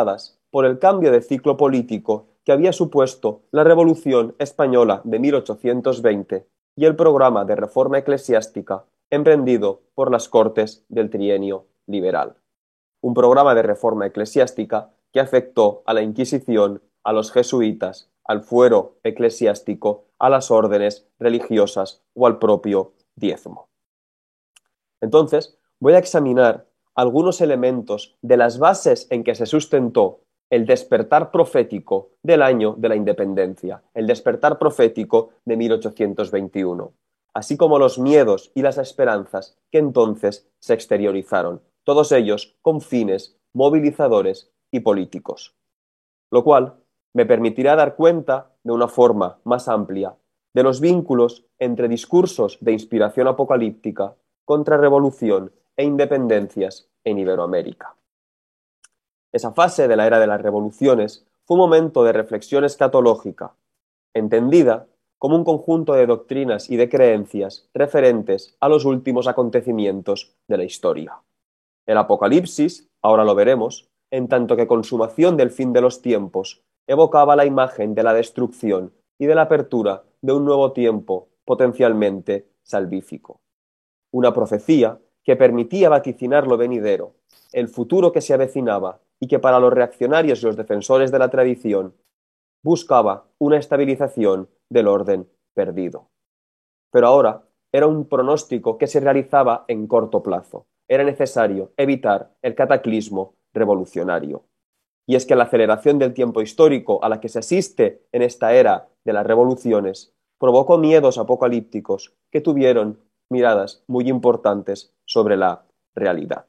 por el cambio de ciclo político que había supuesto la Revolución Española de mil ochocientos veinte y el programa de reforma eclesiástica emprendido por las Cortes del Trienio Liberal. Un programa de reforma eclesiástica que afectó a la Inquisición, a los jesuitas, al fuero eclesiástico, a las órdenes religiosas o al propio diezmo. Entonces, voy a examinar algunos elementos de las bases en que se sustentó el despertar profético del año de la independencia, el despertar profético de mil ochocientos veintiuno, así como los miedos y las esperanzas que entonces se exteriorizaron, todos ellos con fines movilizadores y políticos. Lo cual me permitirá dar cuenta, de una forma más amplia, de los vínculos entre discursos de inspiración apocalíptica, contrarrevolución e independencias en Iberoamérica. Esa fase de la era de las revoluciones fue un momento de reflexión escatológica, entendida como un conjunto de doctrinas y de creencias referentes a los últimos acontecimientos de la historia. El Apocalipsis, ahora lo veremos, en tanto que consumación del fin de los tiempos, evocaba la imagen de la destrucción y de la apertura de un nuevo tiempo potencialmente salvífico. Una profecía que permitía vaticinar lo venidero, el futuro que se avecinaba y que para los reaccionarios y los defensores de la tradición buscaba una estabilización del orden perdido. Pero ahora era un pronóstico que se realizaba en corto plazo. Era necesario evitar el cataclismo revolucionario. Y es que la aceleración del tiempo histórico a la que se asiste en esta era de las revoluciones provocó miedos apocalípticos que tuvieron miradas muy importantes sobre la realidad.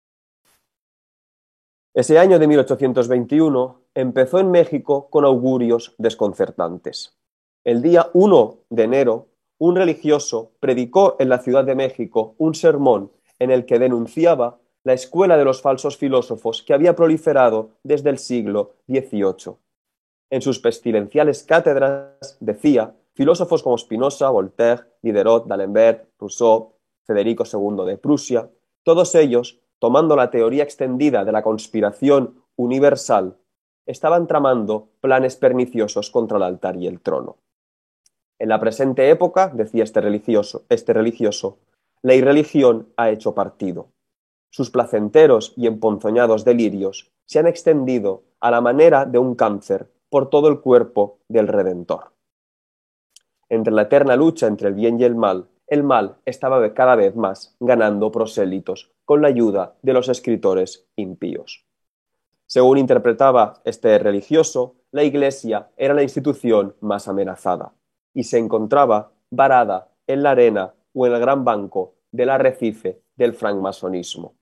Ese año de mil ochocientos veintiuno empezó en México con augurios desconcertantes. El día uno de enero, un religioso predicó en la Ciudad de México un sermón en el que denunciaba la escuela de los falsos filósofos que había proliferado desde el siglo dieciocho. En sus pestilenciales cátedras decía filósofos como Spinoza, Voltaire, Diderot, D'Alembert, Rousseau, Federico segundo de Prusia, todos ellos, tomando la teoría extendida de la conspiración universal, estaban tramando planes perniciosos contra el altar y el trono. En la presente época, decía este religioso, este religioso, la irreligión ha hecho partido. Sus placenteros y emponzoñados delirios se han extendido a la manera de un cáncer por todo el cuerpo del Redentor. Entre la eterna lucha entre el bien y el mal, el mal estaba cada vez más ganando prosélitos con la ayuda de los escritores impíos. Según interpretaba este religioso, la Iglesia era la institución más amenazada y se encontraba varada en la arena o en el gran banco del arrecife del francmasonismo.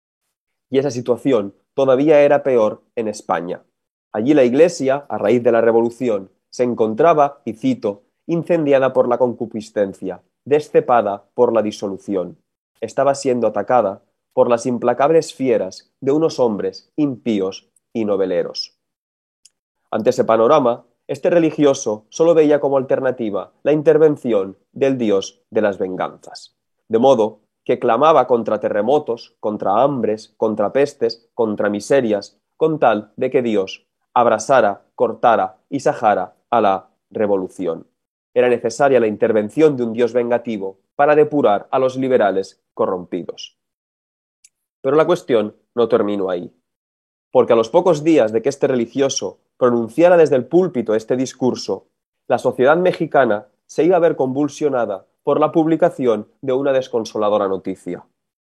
Y esa situación todavía era peor en España. Allí la Iglesia, a raíz de la Revolución, se encontraba, y cito, incendiada por la concupiscencia, descepada por la disolución. Estaba siendo atacada por las implacables fieras de unos hombres impíos y noveleros. Ante ese panorama, este religioso solo veía como alternativa la intervención del dios de las venganzas. De modo que clamaba contra terremotos, contra hambres, contra pestes, contra miserias, con tal de que Dios abrasara, cortara y sajara a la revolución. Era necesaria la intervención de un Dios vengativo para depurar a los liberales corrompidos. Pero la cuestión no terminó ahí, porque a los pocos días de que este religioso pronunciara desde el púlpito este discurso, la sociedad mexicana se iba a ver convulsionada por la publicación de una desconsoladora noticia.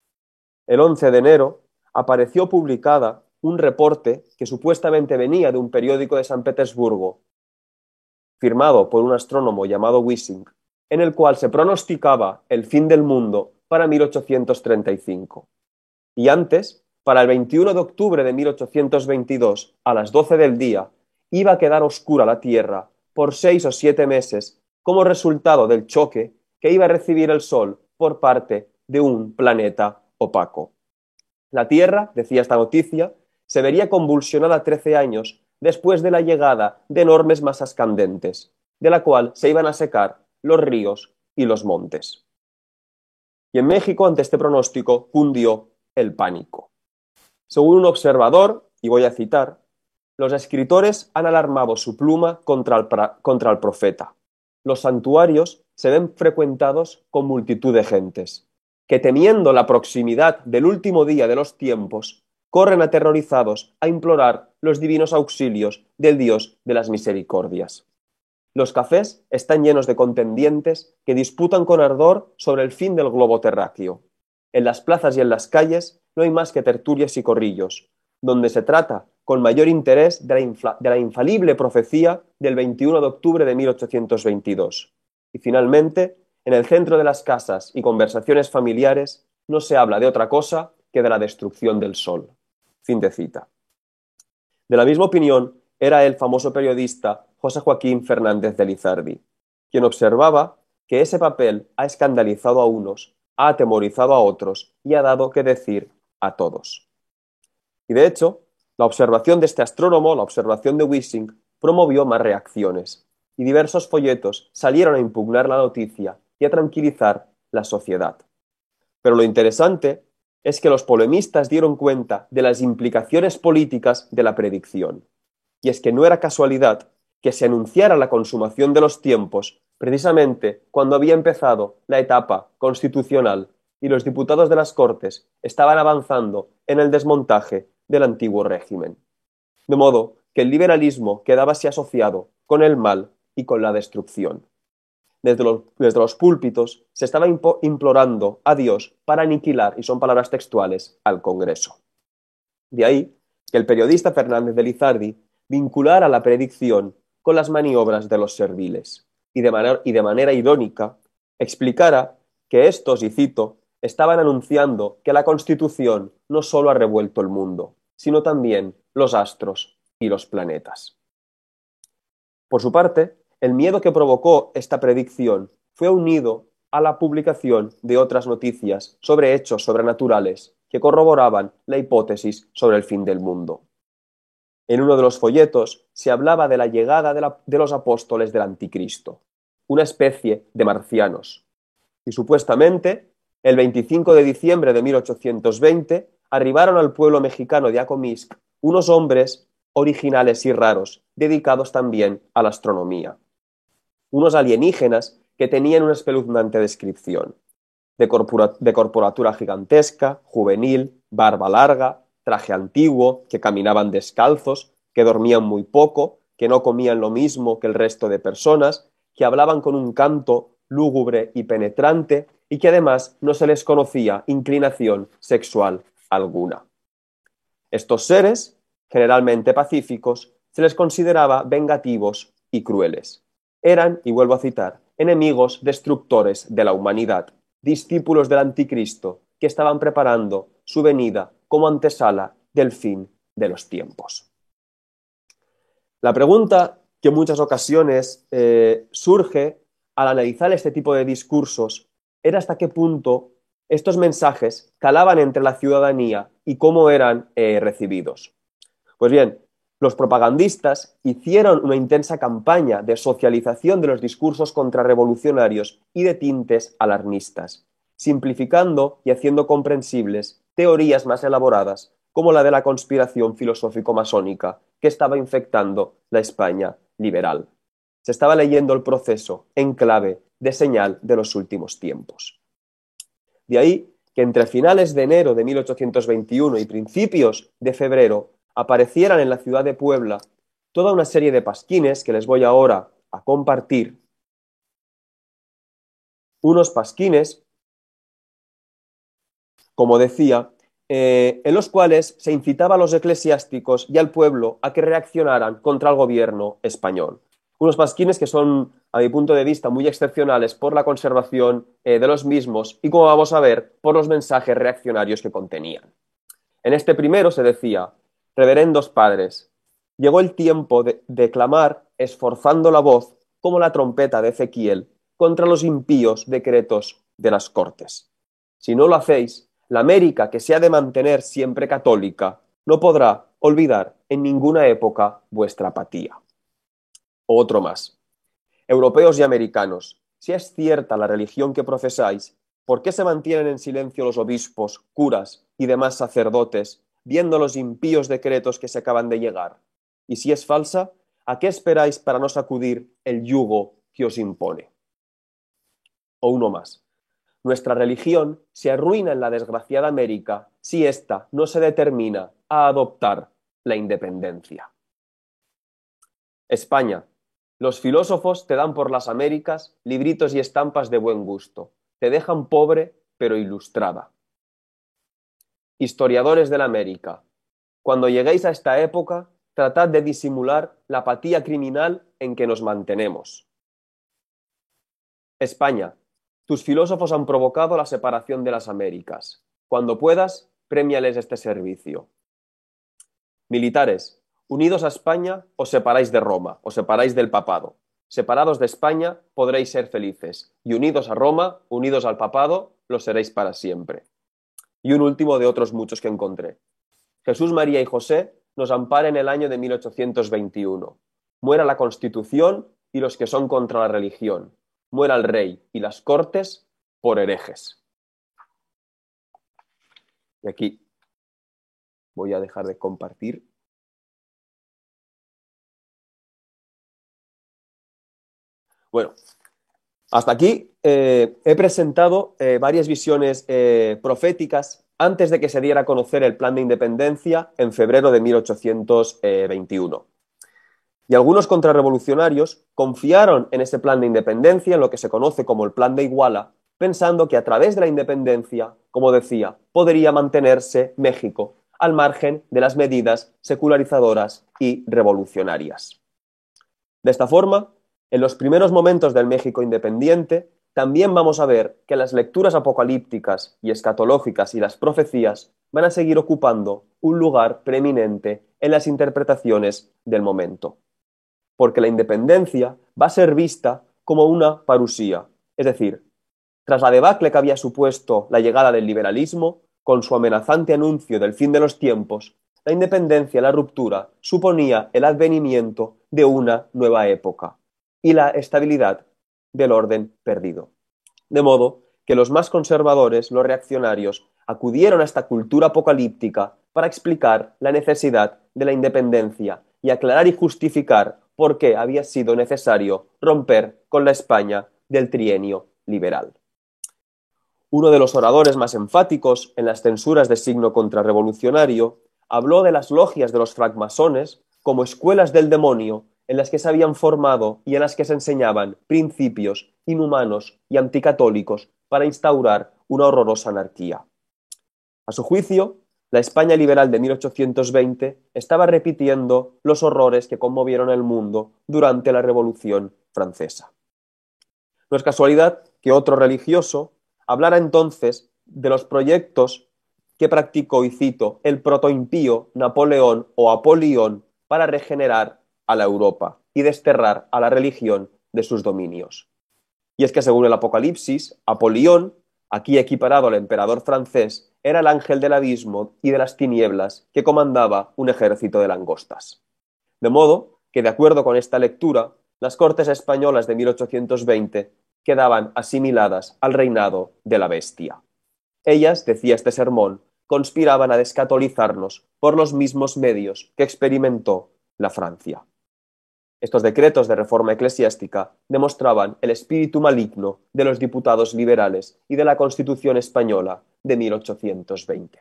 El once de enero apareció publicada un reporte que supuestamente venía de un periódico de San Petersburgo, firmado por un astrónomo llamado Wissing, en el cual se pronosticaba el fin del mundo para mil ochocientos treinta y cinco. Y antes, para el veintiuno de octubre de mil ochocientos veintidós, a las doce del día, iba a quedar oscura la Tierra por seis o siete meses como resultado del choque que iba a recibir el Sol por parte de un planeta opaco. La Tierra, decía esta noticia, se vería convulsionada trece años después de la llegada de enormes masas candentes, de la cual se iban a secar los ríos y los montes. Y en México, ante este pronóstico, cundió el pánico. Según un observador, y voy a citar, los escritores han alarmado su pluma contra el, contra el profeta. Los santuarios se ven frecuentados con multitud de gentes, que temiendo la proximidad del último día de los tiempos, corren aterrorizados a implorar los divinos auxilios del Dios de las misericordias. Los cafés están llenos de contendientes que disputan con ardor sobre el fin del globo terráqueo. En las plazas y en las calles no hay más que tertulias y corrillos, donde se trata con mayor interés de la, infla, de la infalible profecía del veintiuno de octubre de mil ochocientos veintidós. Y finalmente, en el centro de las casas y conversaciones familiares no se habla de otra cosa que de la destrucción del sol. Fin de cita. De la misma opinión era el famoso periodista José Joaquín Fernández de Lizardi, quien observaba que ese papel ha escandalizado a unos, ha atemorizado a otros y ha dado que decir a todos. Y de hecho, la observación de este astrónomo, la observación de Wissing, promovió más reacciones, y diversos folletos salieron a impugnar la noticia y a tranquilizar la sociedad. Pero lo interesante es que los polemistas dieron cuenta de las implicaciones políticas de la predicción. Y es que no era casualidad que se anunciara la consumación de los tiempos precisamente cuando había empezado la etapa constitucional y los diputados de las Cortes estaban avanzando en el desmontaje del antiguo régimen. De modo que el liberalismo quedaba así asociado con el mal y con la destrucción. Desde los, desde los púlpitos se estaba implorando a Dios para aniquilar, y son palabras textuales, al Congreso. De ahí que el periodista Fernández de Lizardi vinculara la predicción con las maniobras de los serviles y de, manera, y de manera irónica explicara que estos, y cito, estaban anunciando que la Constitución no solo ha revuelto el mundo, sino también los astros y los planetas. Por su parte, el miedo que provocó esta predicción fue unido a la publicación de otras noticias sobre hechos sobrenaturales que corroboraban la hipótesis sobre el fin del mundo. En uno de los folletos se hablaba de la llegada de, la, de los apóstoles del Anticristo, una especie de marcianos, y supuestamente el veinticinco de diciembre de mil ochocientos veinte arribaron al pueblo mexicano de Acomisc unos hombres originales y raros, dedicados también a la astronomía. Unos alienígenas que tenían una espeluznante descripción, de, corpora, de corporatura gigantesca, juvenil, barba larga, traje antiguo, que caminaban descalzos, que dormían muy poco, que no comían lo mismo que el resto de personas, que hablaban con un canto lúgubre y penetrante y que además no se les conocía inclinación sexual alguna. Estos seres, generalmente pacíficos, se les consideraba vengativos y crueles. Eran, y vuelvo a citar, enemigos destructores de la humanidad, discípulos del Anticristo, que estaban preparando su venida como antesala del fin de los tiempos. La pregunta que en muchas ocasiones eh, surge al analizar este tipo de discursos era hasta qué punto estos mensajes calaban entre la ciudadanía y cómo eran eh, recibidos. Pues bien, los propagandistas hicieron una intensa campaña de socialización de los discursos contrarrevolucionarios y de tintes alarmistas, simplificando y haciendo comprensibles teorías más elaboradas como la de la conspiración filosófico-masónica que estaba infectando la España liberal. Se estaba leyendo el proceso en clave de señal de los últimos tiempos. De ahí que entre finales de enero de mil ochocientos veintiuno y principios de febrero aparecieran en la ciudad de Puebla toda una serie de pasquines que les voy ahora a compartir. Unos pasquines, como decía, eh, en los cuales se incitaba a los eclesiásticos y al pueblo a que reaccionaran contra el gobierno español. Unos pasquines que son, a mi punto de vista, muy excepcionales por la conservación eh, de los mismos y, como vamos a ver, por los mensajes reaccionarios que contenían. En este primero se decía: reverendos padres, llegó el tiempo de, de clamar esforzando la voz como la trompeta de Ezequiel contra los impíos decretos de las Cortes. Si no lo hacéis, la América, que se ha de mantener siempre católica, no podrá olvidar en ninguna época vuestra apatía. Otro más. Europeos y americanos, si es cierta la religión que profesáis, ¿por qué se mantienen en silencio los obispos, curas y demás sacerdotes, viendo los impíos decretos que se acaban de llegar? Y si es falsa, ¿a qué esperáis para no sacudir el yugo que os impone? O uno más. Nuestra religión se arruina en la desgraciada América si ésta no se determina a adoptar la independencia. España. Los filósofos te dan por las Américas libritos y estampas de buen gusto. Te dejan pobre pero ilustrada. Historiadores de la América. Cuando lleguéis a esta época, tratad de disimular la apatía criminal en que nos mantenemos. España. Tus filósofos han provocado la separación de las Américas. Cuando puedas, prémiales este servicio. Militares. Unidos a España, os separáis de Roma, os separáis del papado. Separados de España, podréis ser felices. Y unidos a Roma, unidos al papado, lo seréis para siempre. Y un último de otros muchos que encontré. Jesús, María y José nos amparen el año de mil ochocientos veintiuno. Muera la Constitución y los que son contra la religión. Muera el rey y las cortes por herejes. Y aquí voy a dejar de compartir. Bueno, hasta aquí eh, he presentado eh, varias visiones eh, proféticas antes de que se diera a conocer el plan de independencia en febrero de mil ochocientos veintiuno. Y algunos contrarrevolucionarios confiaron en ese plan de independencia, en lo que se conoce como el Plan de Iguala, pensando que a través de la independencia, como decía, podría mantenerse México al margen de las medidas secularizadoras y revolucionarias. De esta forma, en los primeros momentos del México independiente, también vamos a ver que las lecturas apocalípticas y escatológicas y las profecías van a seguir ocupando un lugar preeminente en las interpretaciones del momento. Porque la independencia va a ser vista como una parusía, es decir, tras la debacle que había supuesto la llegada del liberalismo, con su amenazante anuncio del fin de los tiempos, la independencia, la ruptura, suponía el advenimiento de una nueva época y la estabilidad del orden perdido. De modo que los más conservadores, los reaccionarios, acudieron a esta cultura apocalíptica para explicar la necesidad de la independencia y aclarar y justificar por qué había sido necesario romper con la España del trienio liberal. Uno de los oradores más enfáticos en las censuras de signo contrarrevolucionario habló de las logias de los francmasones como escuelas del demonio en las que se habían formado y en las que se enseñaban principios inhumanos y anticatólicos para instaurar una horrorosa anarquía. A su juicio, la España liberal de mil ochocientos veinte estaba repitiendo los horrores que conmovieron el mundo durante la Revolución Francesa. No es casualidad que otro religioso hablara entonces de los proyectos que practicó, y cito, el protoimpío Napoleón o Apolión para regenerar a la Europa y desterrar a la religión de sus dominios. Y es que según el Apocalipsis, Apolión, aquí equiparado al emperador francés, era el ángel del abismo y de las tinieblas que comandaba un ejército de langostas. De modo que, de acuerdo con esta lectura, las Cortes españolas de mil ochocientos veinte quedaban asimiladas al reinado de la bestia. Ellas, decía este sermón, conspiraban a descatolizarnos por los mismos medios que experimentó la Francia. Estos decretos de reforma eclesiástica demostraban el espíritu maligno de los diputados liberales y de la Constitución española de mil ochocientos veinte.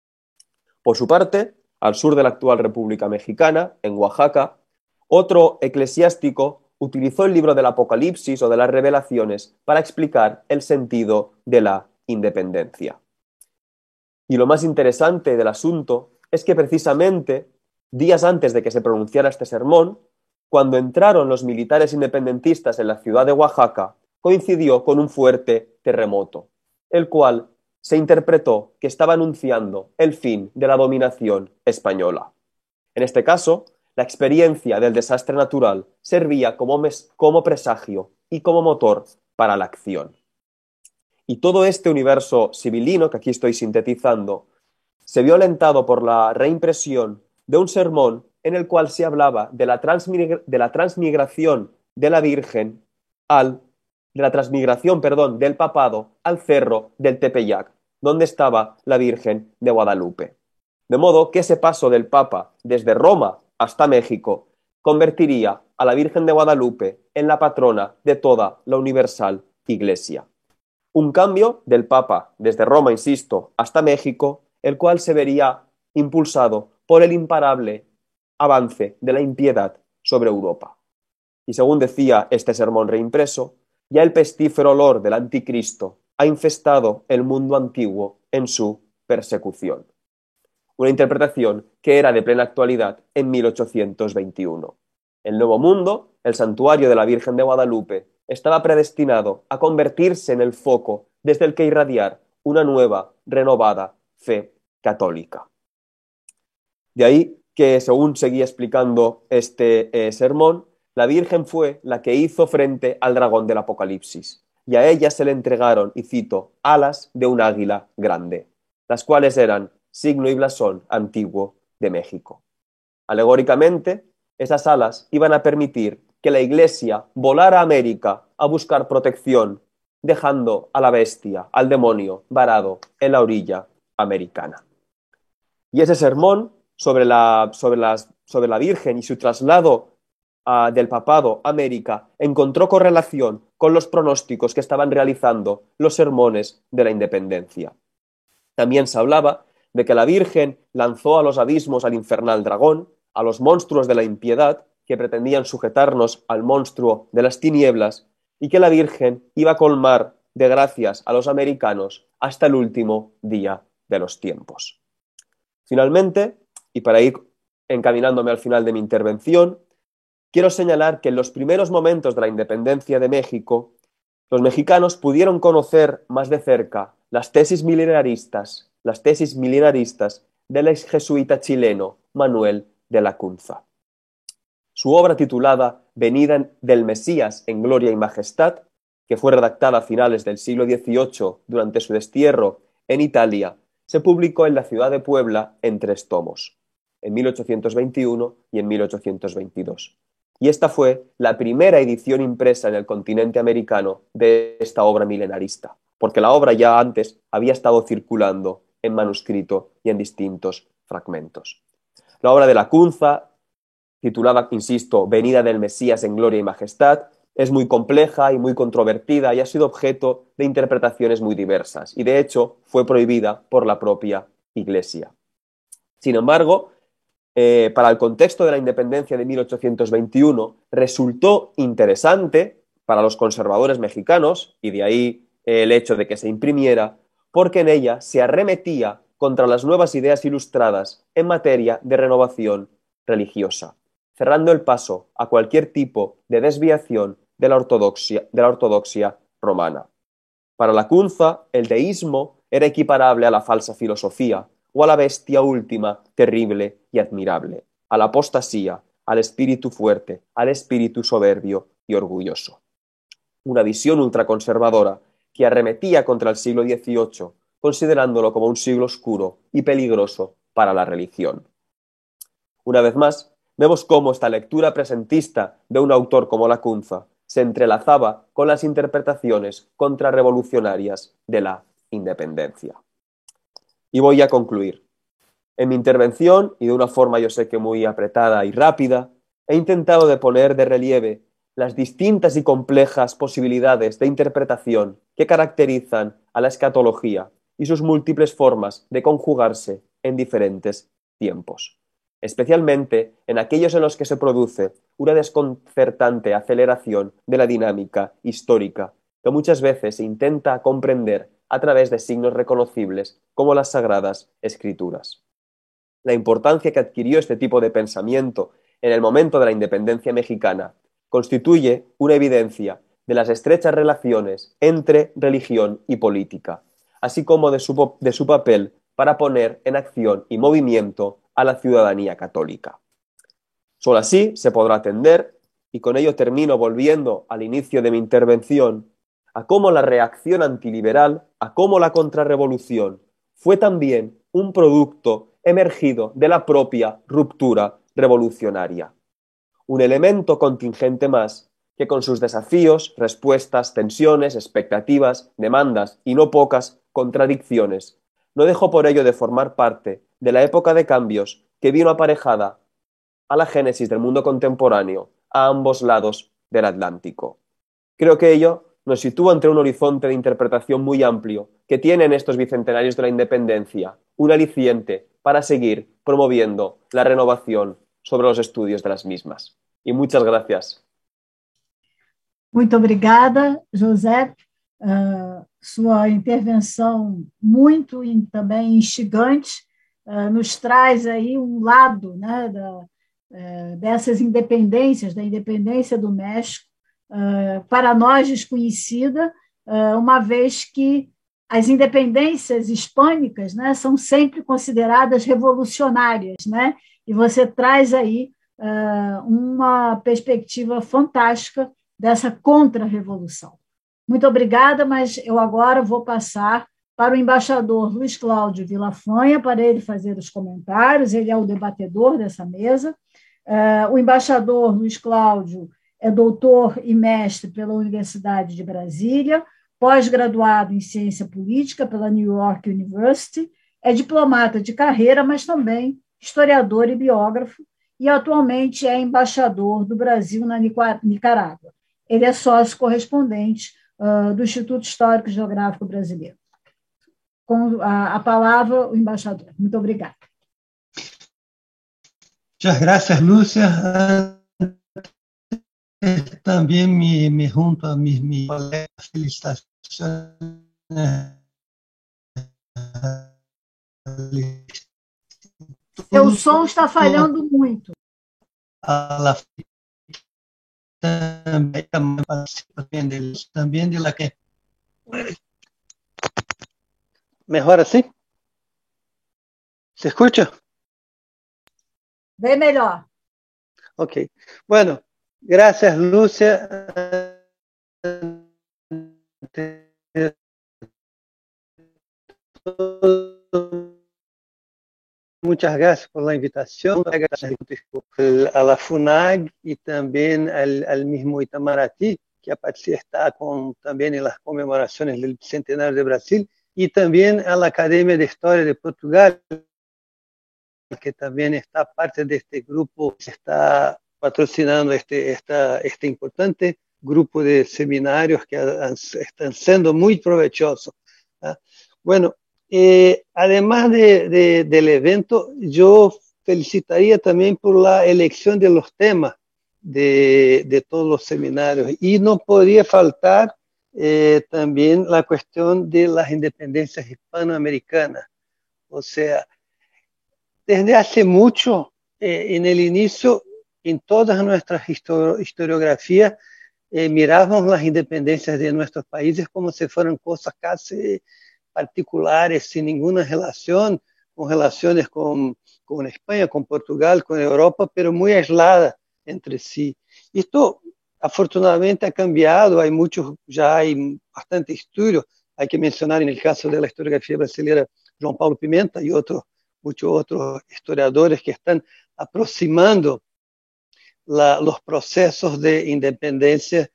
Por su parte, al sur de la actual República Mexicana, en Oaxaca, otro eclesiástico utilizó el libro del Apocalipsis o de las Revelaciones para explicar el sentido de la independencia. Y lo más interesante del asunto es que precisamente días antes de que se pronunciara este sermón, cuando entraron los militares independentistas en la ciudad de Oaxaca, coincidió con un fuerte terremoto, el cual se interpretó que estaba anunciando el fin de la dominación española. En este caso, la experiencia del desastre natural servía como, mes, como presagio y como motor para la acción. Y todo este universo sibilino que aquí estoy sintetizando se vio alentado por la reimpresión de un sermón en el cual se hablaba de la, transmigra de la transmigración de la Virgen al, de la transmigración, perdón, del papado al cerro del Tepeyac, donde estaba la Virgen de Guadalupe. De modo que ese paso del Papa desde Roma hasta México, convertiría a la Virgen de Guadalupe en la patrona de toda la universal Iglesia. Un cambio del Papa desde Roma, insisto, hasta México, el cual se vería impulsado por el imparable avance de la impiedad sobre Europa. Y según decía este sermón reimpreso, ya el pestífero olor del anticristo ha infestado el mundo antiguo en su persecución. Una interpretación que era de plena actualidad en mil ochocientos veintiuno. El Nuevo Mundo, el santuario de la Virgen de Guadalupe, estaba predestinado a convertirse en el foco desde el que irradiar una nueva, renovada fe católica. De ahí que, según seguía explicando este eh, sermón, la Virgen fue la que hizo frente al dragón del Apocalipsis, y a ella se le entregaron, y cito, alas de un águila grande, las cuales eran signo y blasón antiguo de México. Alegóricamente, esas alas iban a permitir que la Iglesia volara a América a buscar protección, dejando a la bestia, al demonio, varado en la orilla americana. Y ese sermón sobre la, sobre las, sobre la Virgen y su traslado uh, del papado a América encontró correlación con los pronósticos que estaban realizando los sermones de la independencia. También se hablaba de que la Virgen lanzó a los abismos al infernal dragón, a los monstruos de la impiedad que pretendían sujetarnos al monstruo de las tinieblas, y que la Virgen iba a colmar de gracias a los americanos hasta el último día de los tiempos. Finalmente, y para ir encaminándome al final de mi intervención, quiero señalar que en los primeros momentos de la independencia de México, los mexicanos pudieron conocer más de cerca las tesis milenaristas, las tesis milenaristas del ex jesuita chileno Manuel de Lacunza. Su obra titulada Venida del Mesías en Gloria y Majestad, que fue redactada a finales del siglo dieciocho durante su destierro en Italia, se publicó en la ciudad de Puebla en tres tomos, en mil ochocientos veintiuno y en mil ochocientos veintidós. Y esta fue la primera edición impresa en el continente americano de esta obra milenarista, porque la obra ya antes había estado circulando en manuscrito y en distintos fragmentos. La obra de Lacunza, titulada, insisto, Venida del Mesías en Gloria y Majestad, es muy compleja y muy controvertida y ha sido objeto de interpretaciones muy diversas, y de hecho fue prohibida por la propia Iglesia. Sin embargo, eh, para el contexto de la independencia de mil ochocientos veintiuno, resultó interesante para los conservadores mexicanos, y de ahí eh, el hecho de que se imprimiera, porque en ella se arremetía contra las nuevas ideas ilustradas en materia de renovación religiosa, cerrando el paso a cualquier tipo de desviación de la ortodoxia, de la ortodoxia romana. Para Lacunza, el deísmo era equiparable a la falsa filosofía o a la bestia última, terrible y admirable, a la apostasía, al espíritu fuerte, al espíritu soberbio y orgulloso. Una visión ultraconservadora que arremetía contra el siglo dieciocho, considerándolo como un siglo oscuro y peligroso para la religión. Una vez más, vemos cómo esta lectura presentista de un autor como Lacunza se entrelazaba con las interpretaciones contrarrevolucionarias de la independencia. Y voy a concluir. En mi intervención, y de una forma yo sé que muy apretada y rápida, he intentado de poner de relieve las distintas y complejas posibilidades de interpretación que caracterizan a la escatología y sus múltiples formas de conjugarse en diferentes tiempos, especialmente en aquellos en los que se produce una desconcertante aceleración de la dinámica histórica que muchas veces se intenta comprender a través de signos reconocibles como las Sagradas Escrituras. La importancia que adquirió este tipo de pensamiento en el momento de la independencia mexicana constituye una evidencia de las estrechas relaciones entre religión y política, así como de su, de su papel para poner en acción y movimiento a la ciudadanía católica. Solo así se podrá atender, y con ello termino volviendo al inicio de mi intervención, a cómo la reacción antiliberal, a cómo la contrarrevolución fue también un producto emergido de la propia ruptura revolucionaria. Un elemento contingente más que con sus desafíos, respuestas, tensiones, expectativas, demandas y no pocas contradicciones, no dejó por ello de formar parte de la época de cambios que vino aparejada a la génesis del mundo contemporáneo a ambos lados del Atlántico. Creo que ello nos sitúa ante un horizonte de interpretación muy amplio que tienen estos bicentenarios de la independencia, un aliciente para seguir promoviendo la renovación sobre los estudios de las mismas. Y muchas gracias. Muito obrigada, José. Uh, sua intervenção muito e também instigante uh, nos traz aí um lado, né, da, uh, dessas independências, da independência do México, uh, para nós desconhecida, uh, uma vez que as independências hispânicas, né, são sempre consideradas revolucionárias, né, e você traz aí uh, uma perspectiva fantástica dessa contra-revolução. Muito obrigada, mas eu agora vou passar para o embaixador Luiz Cláudio Villafaña, para ele fazer os comentários, ele é o debatedor dessa mesa. Uh, o embaixador Luiz Cláudio é doutor e mestre pela Universidade de Brasília, pós-graduado em ciência política pela New York University, é diplomata de carreira, mas também historiador e biógrafo, e atualmente é embaixador do Brasil na Nicarágua. Ele é sócio correspondente uh, do Instituto Histórico e Geográfico Brasileiro. Com a, a palavra, o embaixador. Muito obrigada. Muchas gracias, Lúcia. Também me, me junto a mis, mis colegas, felicitaciones. Seu som está falhando muito. A la También, también, de, también de la que... ¿Mejor así? ¿Se escucha? Bem melhor. Ok. Bueno, gracias, Lúcia. Muchas gracias por la invitación a la FUNAG y también al, al mismo Itamaraty, que está con, también en las conmemoraciones del Bicentenario de Brasil, y también a la Academia de Historia de Portugal, que también está parte de este grupo, que está patrocinando este, esta, este importante grupo de seminarios que han, están siendo muy provechosos. ¿Ah? Bueno, Eh, además de, de, del evento, yo felicitaría también por la elección de los temas de, de todos los seminarios. Y no podría faltar eh, también la cuestión de las independencias hispanoamericanas. O sea, desde hace mucho, eh, en el inicio, en todas nuestras histori- historiografías, eh, mirábamos las independencias de nuestros países como si fueran cosas casi particulares, sin ninguna relación, con relaciones con, con España, con Portugal, con Europa, pero muy aisladas entre sí. Esto afortunadamente ha cambiado, hay muchos, ya hay bastante estudios, hay que mencionar en el caso de la historiografía brasileña João Paulo Pimenta y otros, muchos otros historiadores que están aproximando la, los procesos de independencia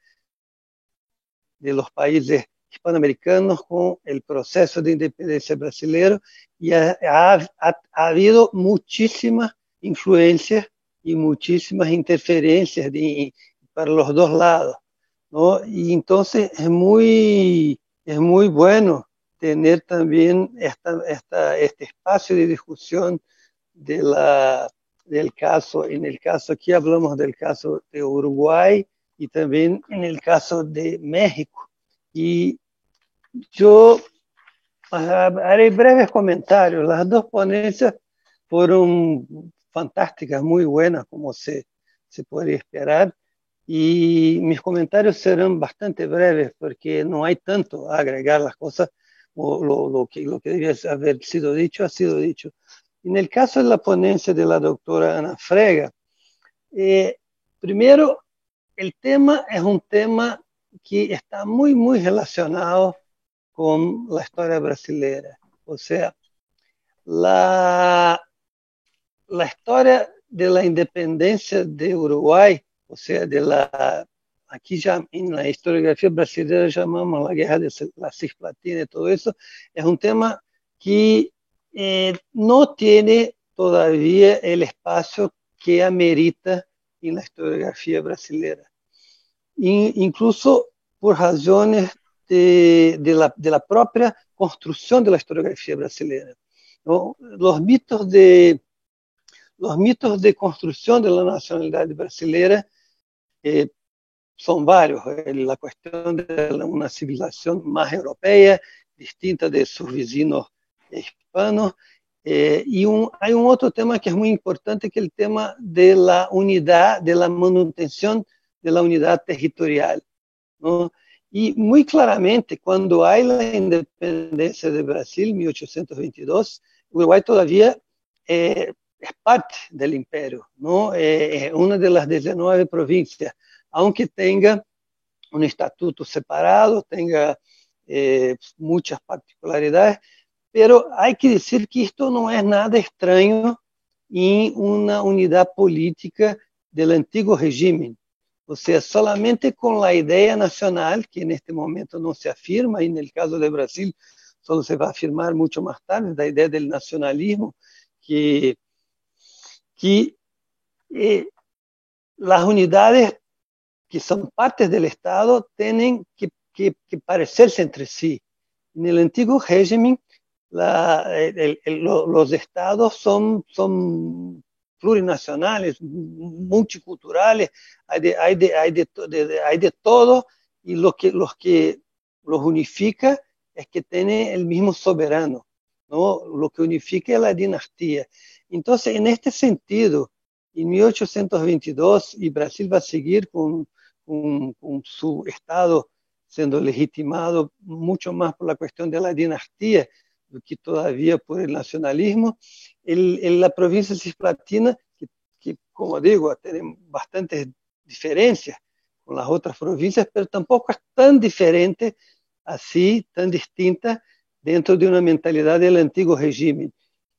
de los países hispanoamericanos con el proceso de independencia brasileño, y ha, ha, ha, ha habido muchísimas influencias y muchísimas interferencias de, para los dos lados, ¿no? Y entonces es muy, es muy bueno tener también esta, esta, este espacio de discusión de la, del caso. En el caso aquí hablamos del caso de Uruguay y también en el caso de México. Y yo haré breves comentarios. Las dos ponencias fueron fantásticas, muy buenas, como se, se puede esperar. Y mis comentarios serán bastante breves porque no hay tanto a agregar. Las cosas, o lo, lo, que, lo que debía haber sido dicho, ha sido dicho. En el caso de la ponencia de la doctora Ana Frega, eh, primero, el tema es un tema que está muy, muy relacionado con la historia brasileña. O sea, la, la historia de la independencia de Uruguay, o sea, de la, aquí ya en la historiografía brasileña llamamos la guerra de la Cisplatina y todo eso, es un tema que eh, no tiene todavía el espacio que amerita en la historiografía brasileña. Incluso por razones de, de, la, de la propia construcción de la historiografía brasileña, ¿no? Los mitos de, los mitos de construcción de la nacionalidad brasileña eh, son varios. La cuestión de una civilización más europea, distinta de sus vecinos hispanos. Eh, y un, hay un otro tema que es muy importante, que es el tema de la unidad, de la manutención de la unidad territorial, ¿no? Y muy claramente, cuando hay la independencia de Brasil, en mil ochocientos veintidós, Uruguay todavía eh, es parte del imperio, ¿no? Eh, es una de las diecinueve provincias, aunque tenga un estatuto separado, tenga eh, muchas particularidades, pero hay que decir que esto no es nada extraño en una unidad política del antiguo régimen. O sea, solamente con la idea nacional, que en este momento no se afirma, y en el caso de Brasil solo se va a afirmar mucho más tarde, la idea del nacionalismo, que, que eh, las unidades que son partes del Estado tienen que, que, que parecerse entre sí. En el antiguo régimen, la, el, el, los estados son, son plurinacionales, multiculturales, hay de, hay de, hay de, de, hay de todo, y lo que, los que los unifica es que tiene el mismo soberano, ¿no? Lo que unifica es la dinastía. Entonces, en este sentido, en mil ochocientos veintidós, y Brasil va a seguir con, con, con su estado siendo legitimado mucho más por la cuestión de la dinastía que todavía por el nacionalismo. El, en la provincia cisplatina, que, que como digo, tiene bastantes diferencias con las otras provincias, pero tampoco es tan diferente así, tan distinta dentro de una mentalidad del antiguo régimen.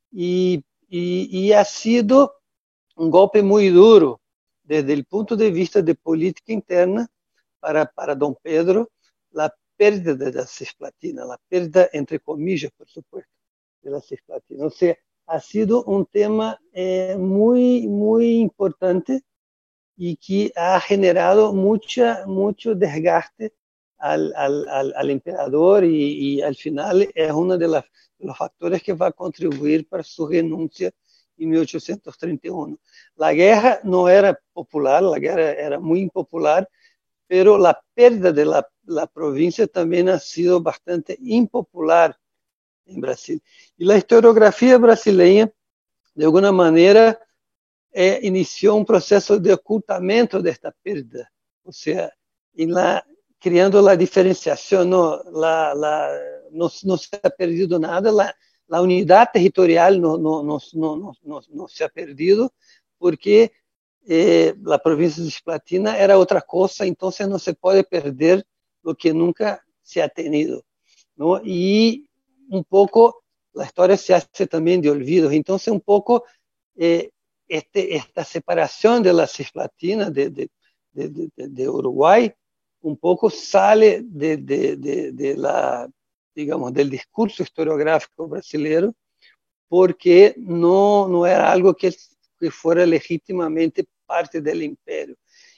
Y, y, y ha sido un golpe muy duro desde el punto de vista de política interna para, para don Pedro, la pérdida de la Cisplatina, la pérdida, entre comillas, por supuesto, de la Cisplatina. O sea, ha sido un tema eh, muy, muy importante y que ha generado mucha, mucho desgaste al, al, al, al emperador, y, y al final es uno de, las, de los factores que va a contribuir para su renuncia en mil ochocientos treinta y uno. La guerra no era popular, la guerra era muy impopular, pero la pérdida de la, la provincia también ha sido bastante impopular en Brasil. Y la historiografía brasileña, de alguna manera, eh, inició un proceso de ocultamiento de esta pérdida, o sea, en la, creando la diferenciación, no, la, la, no, no se ha perdido nada, la, la unidad territorial no, no, no, no, no, no se ha perdido, porque eh, la provincia de Cisplatina era otra cosa, entonces no se puede perder lo que nunca se ha tenido, ¿no? Y un poco la historia se hace también de olvidos, entonces un poco eh, este, esta separación de la Cisplatina de, de, de, de, de Uruguay un poco sale de, de, de, de la, digamos, del discurso historiográfico brasileño, porque no, no era algo que, que fuera legítimamente parte del imperio.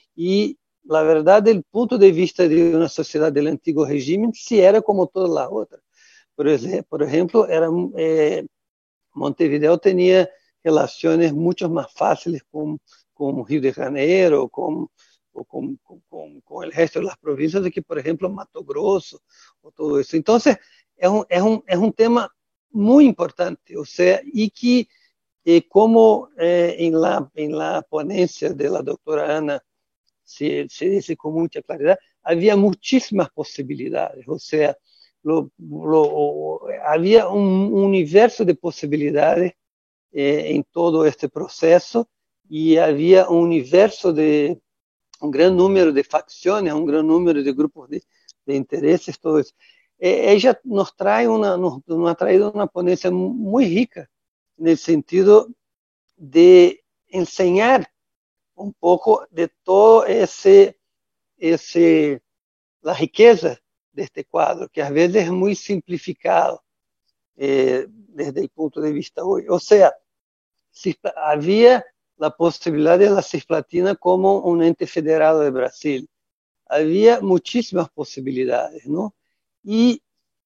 Y la verdad, del punto de vista de una sociedad del antiguo régimen, sí era como todas las otras. Por ejemplo, por ejemplo era, eh, Montevideo tenía relaciones mucho más fáciles con, con Río de Janeiro, con, o con, con, con el resto de las provincias, de que, por ejemplo, Mato Grosso, o todo eso. Entonces, es un, es un, es un tema muy importante, o sea, y que, eh, como eh, en, la, en la ponencia de la doctora Ana se, se dice con mucha claridad, había muchísimas posibilidades, o sea, lo, lo, había un universo de posibilidades eh, en todo este proceso, y había un universo de un gran número de facciones, un gran número de grupos de, de intereses, todo eso. Eh, ella nos trae una, nos, nos ha traído una ponencia muy rica en el sentido de enseñar un poco de todo ese, ese la riqueza de este cuadro, que a veces es muy simplificado eh, desde el punto de vista hoy. O sea, si había la posibilidad de la Cisplatina como un ente federado de Brasil. Había muchísimas posibilidades, ¿no? Y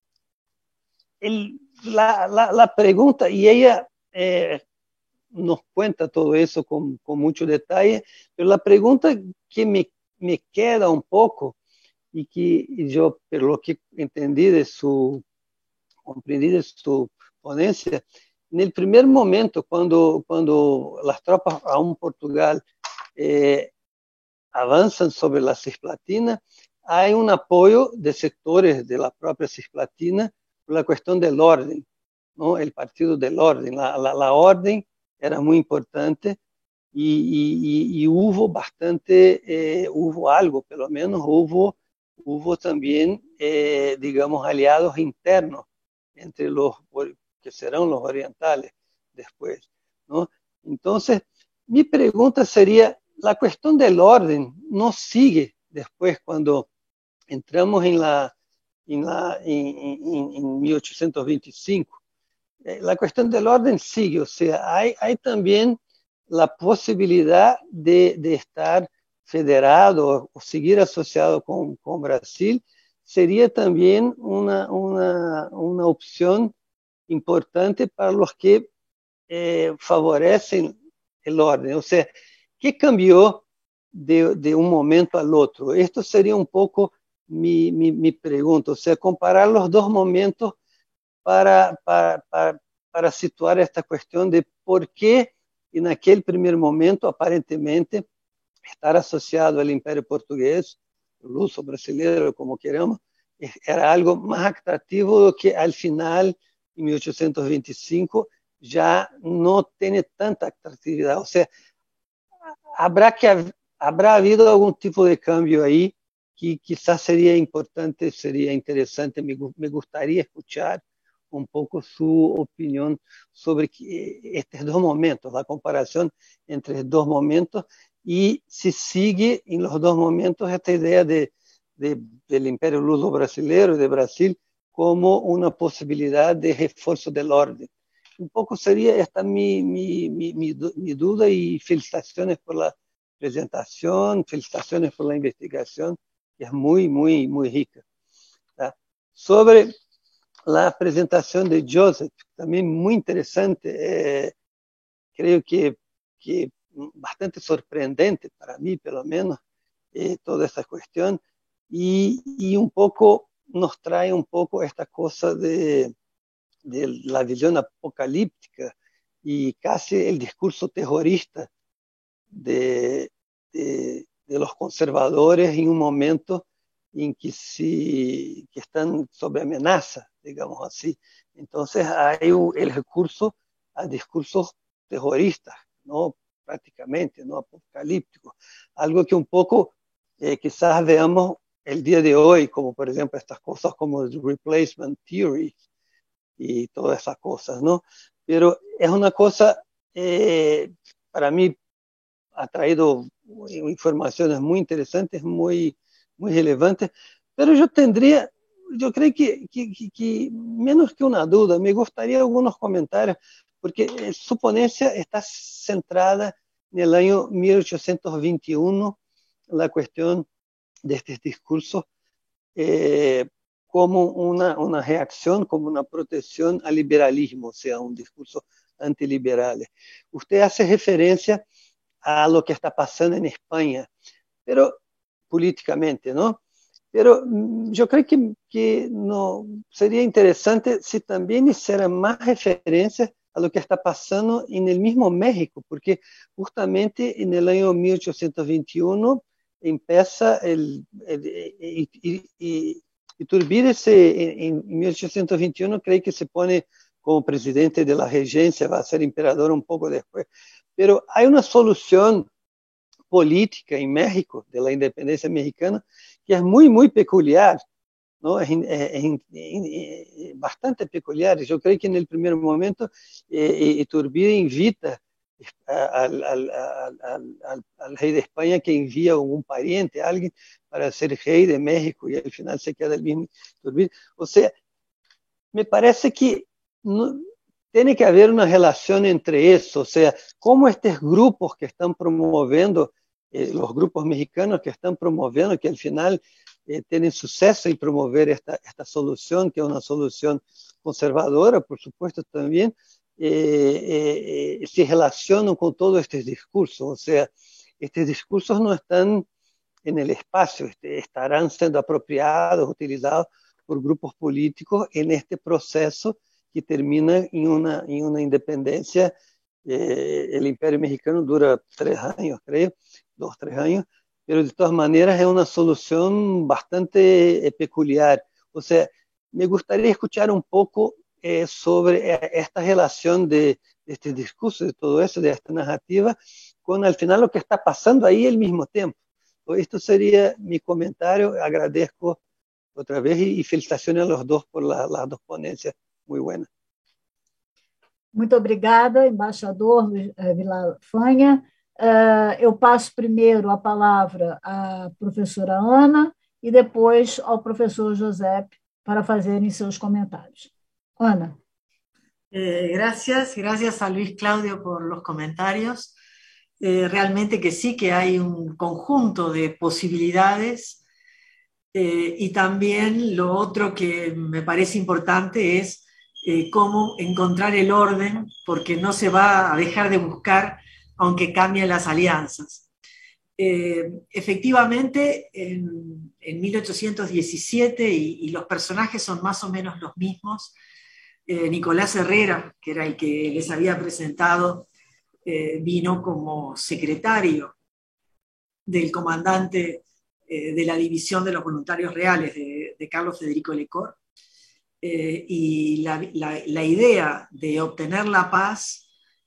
el, la, la, la, pregunta, y ella eh, nos cuenta todo eso con, con mucho detalle, pero la pregunta que me, me queda un poco, y que yo, por lo que entendí de su, comprendí de su ponencia, en el primer momento, cuando, cuando las tropas aún Portugal eh, avanzan sobre la Cisplatina, hay un apoyo de sectores de la propia Cisplatina por la cuestión del orden, ¿no? El partido del orden, la, la, la orden era muy importante y, y, y hubo bastante, eh, hubo algo, pelo menos hubo, hubo también, eh, digamos, aliados internos entre los que serán los orientales después, ¿no? Entonces, mi pregunta sería, la cuestión del orden no sigue después cuando entramos en, la, en, la, en, en, en mil ochocientos veinticinco. La cuestión del orden sigue, o sea, hay, hay también la posibilidad de, de estar federado o seguir asociado con, con Brasil, sería también una, una, una opción importante para los que eh, favorecen el orden. O sea, ¿qué cambió de, de un momento al otro? Esto sería un poco mi, mi, mi pregunta, o sea, comparar los dos momentos para, para, para, para situar esta cuestión de por qué en aquel primer momento, aparentemente, estar asociado al Imperio Portugués, luso brasileiro, como queramos, era algo más atractivo do que al final, en mil ochocientos veinticinco, ya no tiene tanta atractividad. O sea, habrá, que, habrá habido algún tipo de cambio ahí que quizás sería importante, sería interesante, me, me gustaría escuchar un poco su opinión sobre estos dos momentos, la comparación entre dos momentos y si sigue en los dos momentos esta idea de, de, del imperio luso brasileiro, de Brasil, como una posibilidad de refuerzo del orden. Un poco sería esta mi, mi, mi, mi, mi duda y felicitaciones por la presentación, felicitaciones por la investigación, que es muy, muy, muy rica. ¿Tá? Sobre la presentación de Joseph, también muy interesante, eh, creo que, que bastante sorprendente para mí, pelo menos, eh, toda esta cuestión, y, y un poco nos trae un poco esta cosa de, de la visión apocalíptica y casi el discurso terrorista de, de, de los conservadores en un momento en que, si, que están sobre amenaza, digamos así. Entonces hay un, el recurso a discursos terroristas, ¿no? Prácticamente, ¿no? Apocalípticos. Algo que un poco eh, quizás veamos el día de hoy, como por ejemplo estas cosas como el replacement theory y todas esas cosas, ¿no? Pero es una cosa, eh, para mí, ha traído informaciones muy interesantes, muy, muy relevantes, pero yo tendría, yo creo que, que, que, que menos que una duda, me gustaría algunos comentarios, porque su ponencia está centrada en el año mil ochocientos veintiuno, la cuestión de estos discursos eh, como una, una reacción, como una protección al liberalismo, o sea, un discurso antiliberal. Usted hace referencia a lo que está pasando en España, pero políticamente, ¿no? Pero yo creo que, que no, sería interesante si también hicieran más referencias a lo que está pasando en el mismo México, porque justamente en el año mil ochocientos veintiuno empieza el, el, el, el, el Iturbide se, en, en mil ochocientos veintiuno cree que se pone como presidente de la regencia, va a ser emperador un poco después, pero hay una solución política en México, de la independencia mexicana, que es muy, muy peculiar, ¿no? Es, es, es, es bastante peculiar. Yo creo que en el primer momento eh, Iturbide invita al, al, al, al, al rey de España, que envía un pariente, alguien, para ser rey de México, y al final se queda el mismo Iturbide. O sea, me parece que no, tiene que haber una relación entre eso, o sea, cómo estos grupos que están promoviendo, eh, los grupos mexicanos que están promoviendo, que al final eh, tienen suceso en promover esta, esta solución, que es una solución conservadora, por supuesto también, eh, eh, se relacionan con todos estos discursos, o sea, estos discursos no están en el espacio, este, estarán siendo apropiados, utilizados por grupos políticos en este proceso que termina en una, en una independencia. Eh, el Imperio Mexicano dura tres años, creo, dos, tres años, pero de todas maneras es una solución bastante eh, peculiar. O sea, me gustaría escuchar un poco eh, sobre eh, esta relación de, de este discurso, de todo eso, de esta narrativa, con al final lo que está pasando ahí al mismo tiempo. Esto sería mi comentario. Agradezco otra vez y, y felicitaciones a los dos por la, las dos ponencias muy buenas. Muito obrigada, embaixador Vilar Fanha. Uh, eu passo primeiro a palavra à professora Ana e depois ao professor José para fazerem seus comentários. Ana. Eh, gracias, gracias a Luis Claudio por los comentarios. Eh, realmente que sí, que hay un conjunto de posibilidades, eh, y también lo otro que me parece importante es eh, cómo encontrar el orden, porque no se va a dejar de buscar aunque cambien las alianzas. Eh, efectivamente, en, en mil ochocientos diecisiete, y, y los personajes son más o menos los mismos, eh, Nicolás Herrera, que era el que les había presentado, Eh, vino como secretario del comandante eh, de la División de los Voluntarios Reales de, de Carlos Federico Lecor, eh, y la, la, la idea de obtener la paz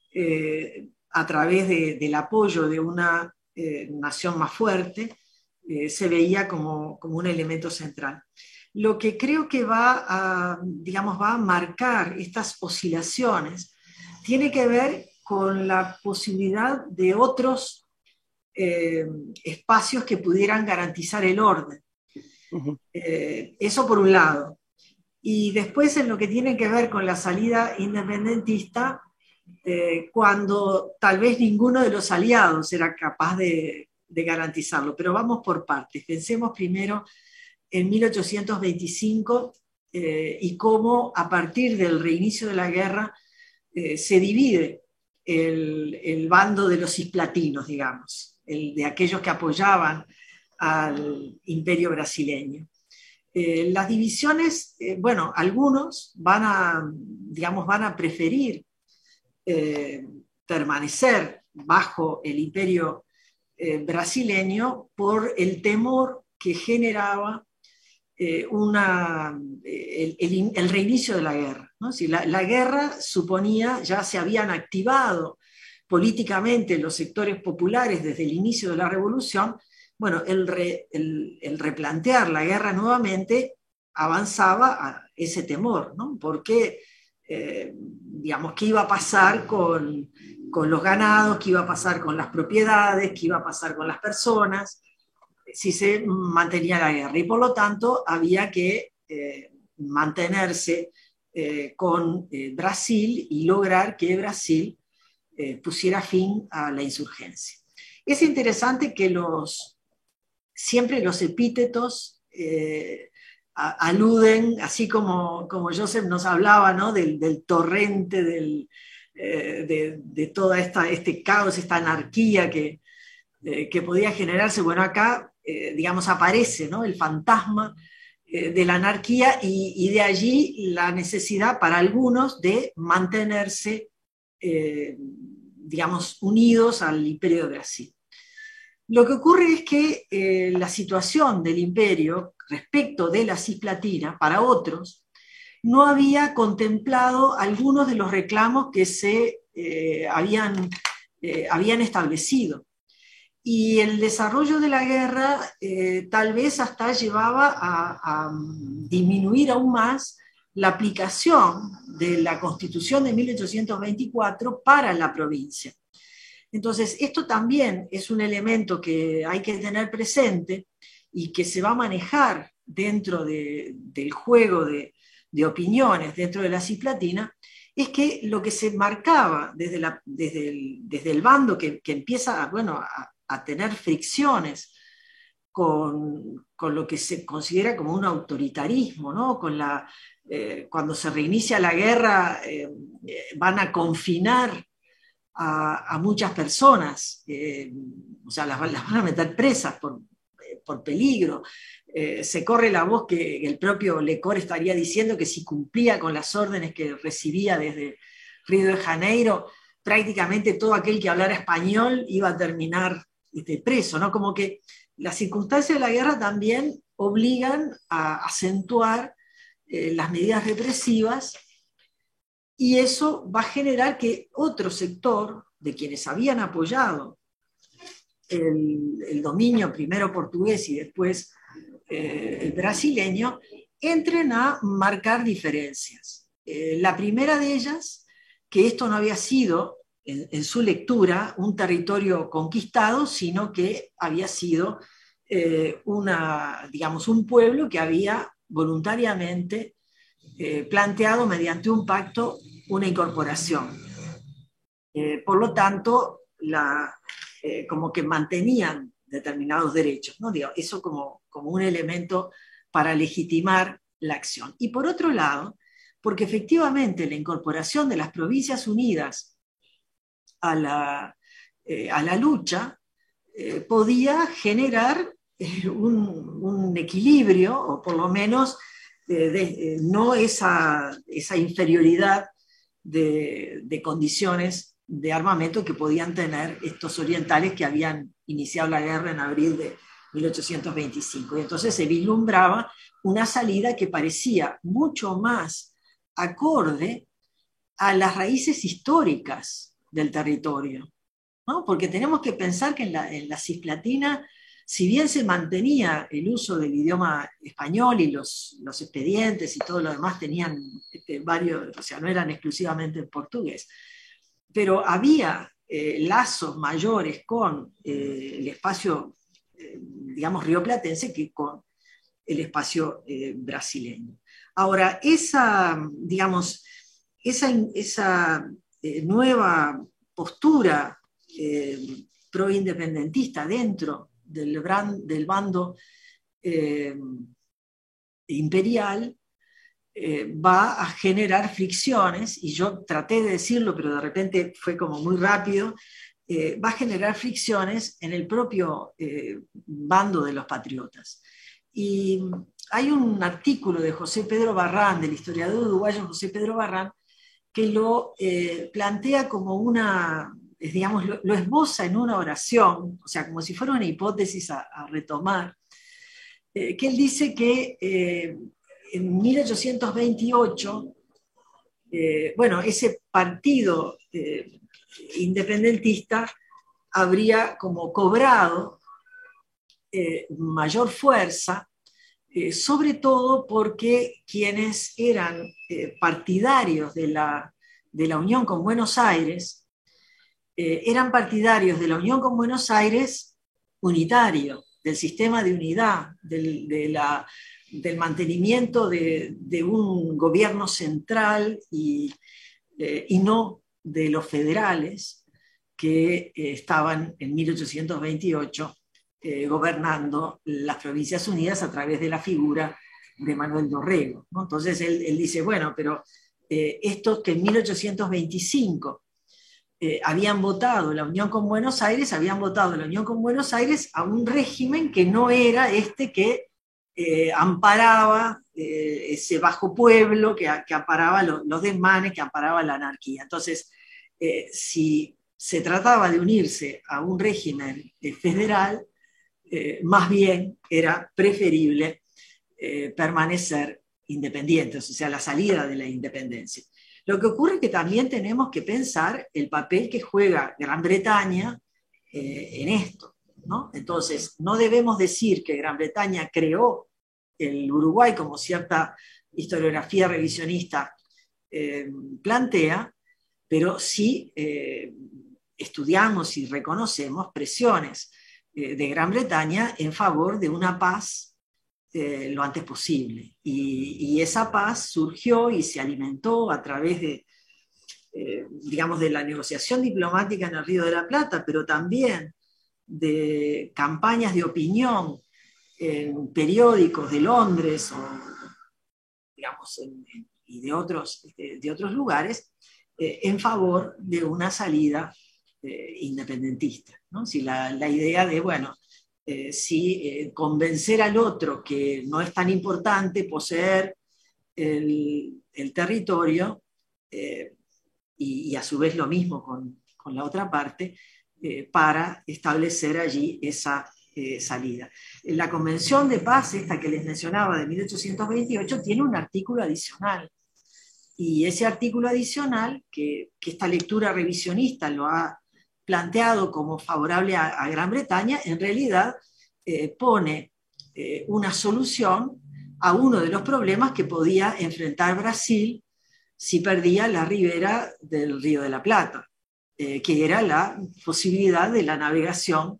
eh, a través de, del apoyo de una eh, nación más fuerte eh, se veía como, como un elemento central. Lo que creo que va a, digamos, va a marcar estas oscilaciones tiene que ver con la posibilidad de otros eh, espacios que pudieran garantizar el orden. Uh-huh. Eh, eso por un lado. Y después en lo que tiene que ver con la salida independentista, eh, cuando tal vez ninguno de los aliados era capaz de, de garantizarlo. Pero vamos por partes. Pensemos primero en mil ochocientos veinticinco eh, y cómo a partir del reinicio de la guerra eh, se divide El, el bando de los cisplatinos, digamos, el de aquellos que apoyaban al imperio brasileño. Eh, las divisiones, eh, bueno, algunos van a, digamos, van a preferir eh, permanecer bajo el imperio eh, brasileño por el temor que generaba eh, una, el, el, el reinicio de la guerra. ¿No? Si la, la guerra suponía, ya se habían activado políticamente los sectores populares desde el inicio de la revolución, bueno, el, re, el, el replantear la guerra nuevamente avanzaba a ese temor, ¿no? Porque, eh, digamos, ¿qué iba a pasar con, con los ganados? ¿Qué iba a pasar con las propiedades? ¿Qué iba a pasar con las personas? Si se mantenía la guerra. Y por lo tanto había que eh, mantenerse Eh, con eh, Brasil y lograr que Brasil eh, pusiera fin a la insurgencia. Es interesante que los, siempre los epítetos eh, a, aluden, así como, como Joseph nos hablaba, ¿no? del, del torrente, del, eh, de, de todo esta, este caos, esta anarquía que, eh, que podía generarse. Bueno, acá, eh, digamos, aparece, ¿no? el fantasma de la anarquía y, y de allí la necesidad para algunos de mantenerse, eh, digamos, unidos al imperio de Brasil. Lo que ocurre es que eh, la situación del imperio respecto de la Cisplatina, para otros, no había contemplado algunos de los reclamos que se eh, habían, eh, habían establecido. Y el desarrollo de la guerra eh, tal vez hasta llevaba a, a disminuir aún más la aplicación de la Constitución de mil ochocientos veinticuatro para la provincia. Entonces, esto también es un elemento que hay que tener presente y que se va a manejar dentro de, del juego de, de opiniones dentro de la Cisplatina, es que lo que se marcaba desde, la, desde, el, desde el bando que, que empieza bueno, a, a tener fricciones con, con lo que se considera como un autoritarismo, ¿no? Con la, eh, cuando se reinicia la guerra eh, van a confinar a, a muchas personas, eh, o sea, las, las van a meter presas por, por peligro. Eh, se corre la voz que el propio Lecor estaría diciendo que si cumplía con las órdenes que recibía desde Río de Janeiro, prácticamente todo aquel que hablara español iba a terminar este, preso, ¿no? Como que las circunstancias de la guerra también obligan a acentuar eh, las medidas represivas, y eso va a generar que otro sector de quienes habían apoyado el, el dominio primero portugués y después eh, el brasileño, entren a marcar diferencias. Eh, la primera de ellas, que esto no había sido, en, en su lectura, un territorio conquistado, sino que había sido eh, una, digamos, un pueblo que había voluntariamente eh, planteado mediante un pacto una incorporación. Eh, por lo tanto, la, eh, como que mantenían determinados derechos, ¿no? Digo, eso como, como un elemento para legitimar la acción. Y por otro lado, porque efectivamente la incorporación de las Provincias Unidas a la, eh, a la lucha eh, podía generar eh, un, un equilibrio, o por lo menos eh, de, eh, no esa, esa inferioridad de, de condiciones de armamento que podían tener estos orientales que habían iniciado la guerra en abril de mil ochocientos veinticinco. Y entonces se vislumbraba una salida que parecía mucho más acorde a las raíces históricas del territorio, ¿no? Porque tenemos que pensar que en la, en la Cisplatina, si bien se mantenía el uso del idioma español y los, los expedientes y todo lo demás tenían este, varios, o sea, no eran exclusivamente en portugués, pero había eh, lazos mayores con eh, el espacio, eh, digamos, rioplatense que con el espacio eh, brasileño. Ahora, esa, digamos, esa, esa eh, nueva postura eh, pro-independentista dentro del, brand, del bando eh, imperial eh, va a generar fricciones, y yo traté de decirlo, pero de repente fue como muy rápido, eh, va a generar fricciones en el propio eh, bando de los patriotas. Y hay un artículo de José Pedro Barrán, del historiador uruguayo José Pedro Barrán, que lo eh, plantea como una, digamos, lo, lo esboza en una oración, o sea, como si fuera una hipótesis a, a retomar, eh, que él dice que eh, en mil ochocientos veintiocho, eh, bueno, ese partido eh, independentista habría como cobrado eh, mayor fuerza, eh, sobre todo porque quienes eran eh, partidarios de la, de la unión con Buenos Aires, eh, eran partidarios de la unión con Buenos Aires unitario, del sistema de unidad, del, de la, del mantenimiento de, de un gobierno central y, eh, y no de los federales que eh, estaban en mil ochocientos veintiocho eh, gobernando las Provincias Unidas a través de la figura de Manuel Dorrego, ¿no? Entonces él, él dice, bueno, pero eh, estos que en mil ochocientos veinticinco eh, habían votado la unión con Buenos Aires, habían votado la unión con Buenos Aires a un régimen que no era este que eh, amparaba eh, ese bajo pueblo, que, que amparaba lo, los desmanes, que amparaba la anarquía. Entonces, eh, si se trataba de unirse a un régimen eh, federal, eh, más bien era preferible eh, permanecer independientes, o sea, la salida de la independencia. Lo que ocurre es que también tenemos que pensar el papel que juega Gran Bretaña eh, en esto, ¿no? Entonces, no debemos decir que Gran Bretaña creó el Uruguay como cierta historiografía revisionista eh, plantea, pero sí eh, estudiamos y reconocemos presiones eh, de Gran Bretaña en favor de una paz Eh, lo antes posible. Y, y esa paz surgió y se alimentó a través de, eh, digamos, de la negociación diplomática en el Río de la Plata, pero también de campañas de opinión en periódicos de Londres o, digamos, en, en, y de otros, de, de otros lugares, eh, en favor de una salida eh, independentista, ¿no? Si la, la idea de, bueno, eh, si eh, convencer al otro que no es tan importante poseer el, el territorio, eh, y, y a su vez lo mismo con, con la otra parte, eh, para establecer allí esa eh, salida. La Convención de Paz, esta que les mencionaba de mil ochocientos veintiocho, tiene un artículo adicional. Y ese artículo adicional, que, que esta lectura revisionista lo ha planteado como favorable a, a Gran Bretaña, en realidad eh, pone eh, una solución a uno de los problemas que podía enfrentar Brasil si perdía la ribera del Río de la Plata, eh, que era la posibilidad de la navegación,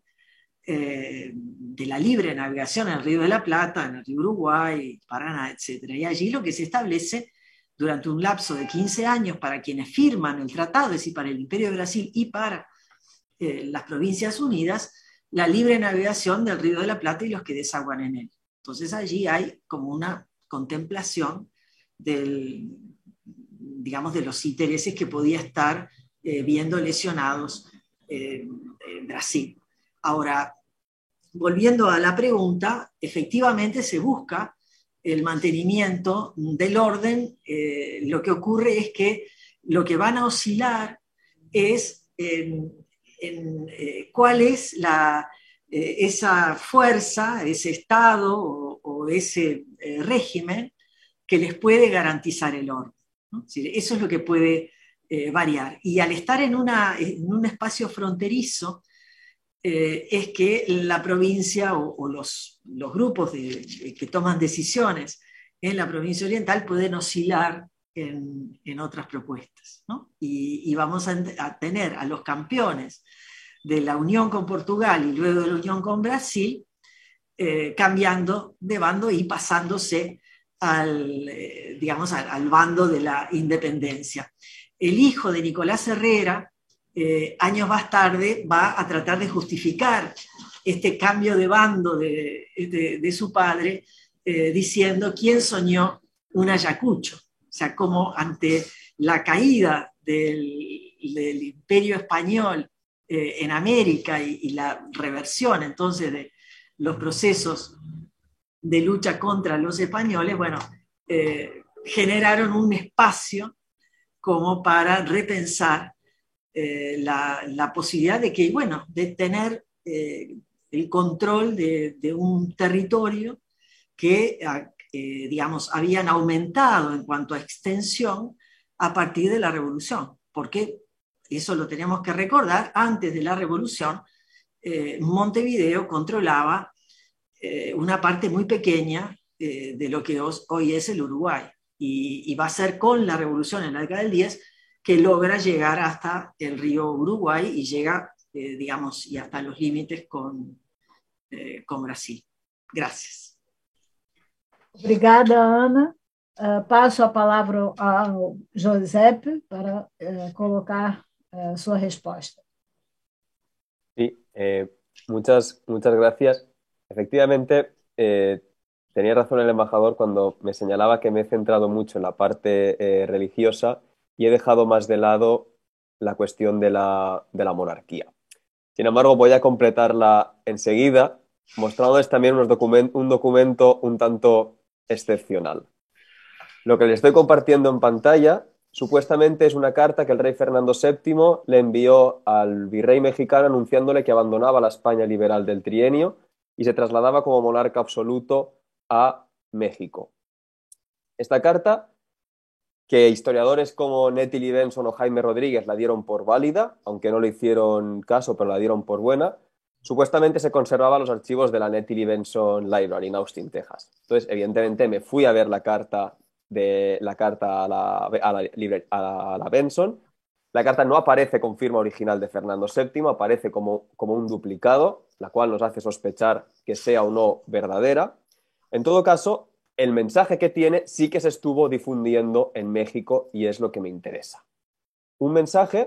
eh, de la libre navegación en el Río de la Plata, en el río Uruguay, Paraná, etcétera. Y allí lo que se establece durante un lapso de quince años para quienes firman el tratado, es decir, para el Imperio de Brasil y para eh, las Provincias Unidas, la libre navegación del Río de la Plata y los que desaguan en él. Entonces allí hay como una contemplación del, digamos, de los intereses que podía estar eh, viendo lesionados eh, en Brasil. Ahora, volviendo a la pregunta, efectivamente se busca el mantenimiento del orden. Eh, lo que ocurre es que lo que van a oscilar es en, en eh, cuál es la, eh, esa fuerza, ese Estado o, o ese eh, régimen que les puede garantizar el orden, ¿no? Es decir, eso es lo que puede eh, variar. Y al estar en, una, en un espacio fronterizo, eh, es que la provincia o, o los, los grupos de, de, que toman decisiones en la provincia oriental pueden oscilar en, en otras propuestas, ¿no? Y, y vamos a, a tener a los campeones de la unión con Portugal y luego de la unión con Brasil eh, cambiando de bando y pasándose al, eh, digamos, al, al bando de la independencia. El hijo de Nicolás Herrera, eh, años más tarde, va a tratar de justificar este cambio de bando de, de, de su padre, eh, diciendo quién soñó un Ayacucho. O sea, como ante la caída del, del imperio español eh, en América y, y la reversión entonces de los procesos de lucha contra los españoles, bueno, eh, generaron un espacio como para repensar eh, la, la posibilidad de que, bueno, de tener eh, el control de, de un territorio que, eh, digamos, habían aumentado en cuanto a extensión a partir de la Revolución, porque eso lo tenemos que recordar, antes de la Revolución, eh, Montevideo controlaba eh, una parte muy pequeña eh, de lo que os, hoy es el Uruguay, y, y va a ser con la Revolución en la década del diez que logra llegar hasta el río Uruguay y llega, eh, digamos, y hasta los límites con, eh, con Brasil. Gracias. Obrigada, Ana. Uh, passo a palavra ao Giuseppe para uh, colocar uh, sua resposta. Sí, eh, muchas, muchas gracias. Efectivamente, eh, tenía razón el embajador cuando me señalaba que me he centrado mucho en la parte eh, religiosa y he dejado más de lado la cuestión de la, de la monarquía. Sin embargo, voy a completarla enseguida, mostrándoles también unos document- un documento un tanto excepcional. Lo que les estoy compartiendo en pantalla supuestamente es una carta que el rey Fernando séptimo le envió al virrey mexicano anunciándole que abandonaba la España liberal del trienio y se trasladaba como monarca absoluto a México. Esta carta, que historiadores como Nettie Lee Benson o Jaime Rodríguez la dieron por válida, aunque no le hicieron caso, pero la dieron por buena, supuestamente se conservaba en los archivos de la Nettie Lee Benson Library en Austin, Texas. Entonces, evidentemente, me fui a ver la carta, de, la carta a, la, a, la, a la Benson. La carta no aparece con firma original de Fernando séptimo, aparece como, como un duplicado, la cual nos hace sospechar que sea o no verdadera. En todo caso, el mensaje que tiene sí que se estuvo difundiendo en México y es lo que me interesa. un mensaje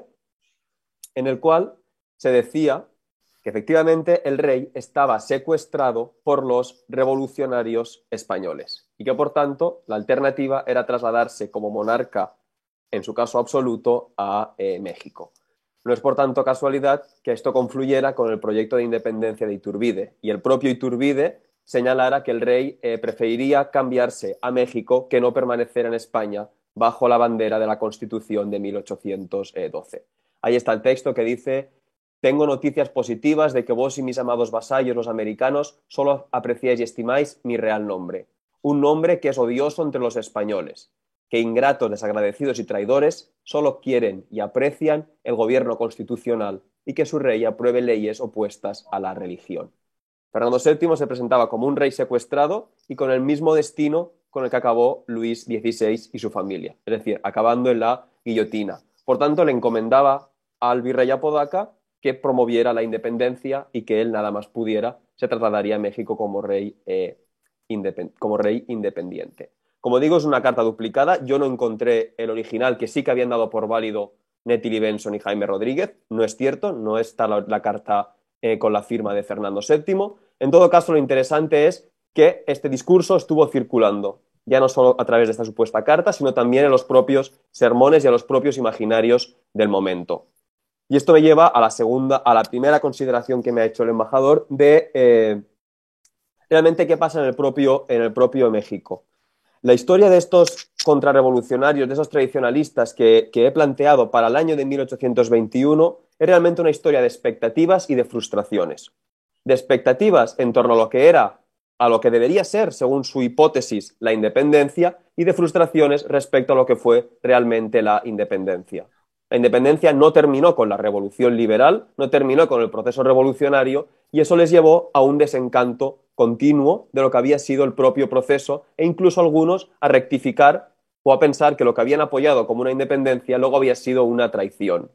en el cual se decía que efectivamente el rey estaba secuestrado por los revolucionarios españoles y que por tanto la alternativa era trasladarse como monarca, en su caso absoluto, a eh, México. No es por tanto casualidad que esto confluyera con el proyecto de independencia de Iturbide y el propio Iturbide señalara que el rey eh, preferiría cambiarse a México que no permanecer en España bajo la bandera de la Constitución de mil ochocientos doce. Ahí está el texto que dice: tengo noticias positivas de que vos y mis amados vasallos, los americanos, solo apreciáis y estimáis mi real nombre. Un nombre que es odioso entre los españoles, que ingratos, desagradecidos y traidores solo quieren y aprecian el gobierno constitucional y que su rey apruebe leyes opuestas a la religión. Fernando séptimo se presentaba como un rey secuestrado y con el mismo destino con el que acabó Luis dieciséis y su familia, es decir, acabando en la guillotina. Por tanto, le encomendaba al virrey Apodaca que promoviera la independencia y que él nada más pudiera se trasladaría a México como rey, eh, independ- como rey independiente. Como digo, es una carta duplicada. Yo no encontré el original, que sí que habían dado por válido Nettie Benson y Jaime Rodríguez. No es cierto, no está la, la carta eh, con la firma de Fernando séptimo. En todo caso, lo interesante es que este discurso estuvo circulando, ya no solo a través de esta supuesta carta, sino también en los propios sermones y a los propios imaginarios del momento. Y esto me lleva a la segunda, a la primera consideración que me ha hecho el embajador de eh, realmente qué pasa en el propio, en el propio México. La historia de estos contrarrevolucionarios, de esos tradicionalistas que, que he planteado para el año de mil ochocientos veintiuno, es realmente una historia de expectativas y de frustraciones. De expectativas en torno a lo que era, a lo que debería ser, según su hipótesis, la independencia, y de frustraciones respecto a lo que fue realmente la independencia. La independencia no terminó con la revolución liberal, no terminó con el proceso revolucionario, y eso les llevó a un desencanto continuo de lo que había sido el propio proceso, e incluso algunos a rectificar o a pensar que lo que habían apoyado como una independencia luego había sido una traición.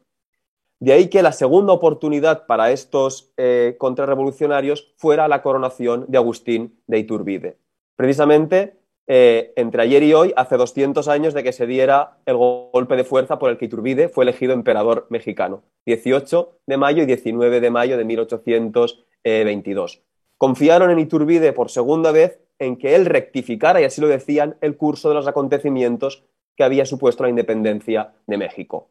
De ahí que la segunda oportunidad para estos eh, contrarrevolucionarios fuera la coronación de Agustín de Iturbide. Precisamente eh, entre ayer y hoy, hace doscientos años de que se diera el golpe de fuerza por el que Iturbide fue elegido emperador mexicano, dieciocho de mayo y diecinueve de mayo de mil ochocientos veintidós. Confiaron en Iturbide por segunda vez en que él rectificara, y así lo decían, el curso de los acontecimientos que había supuesto la independencia de México.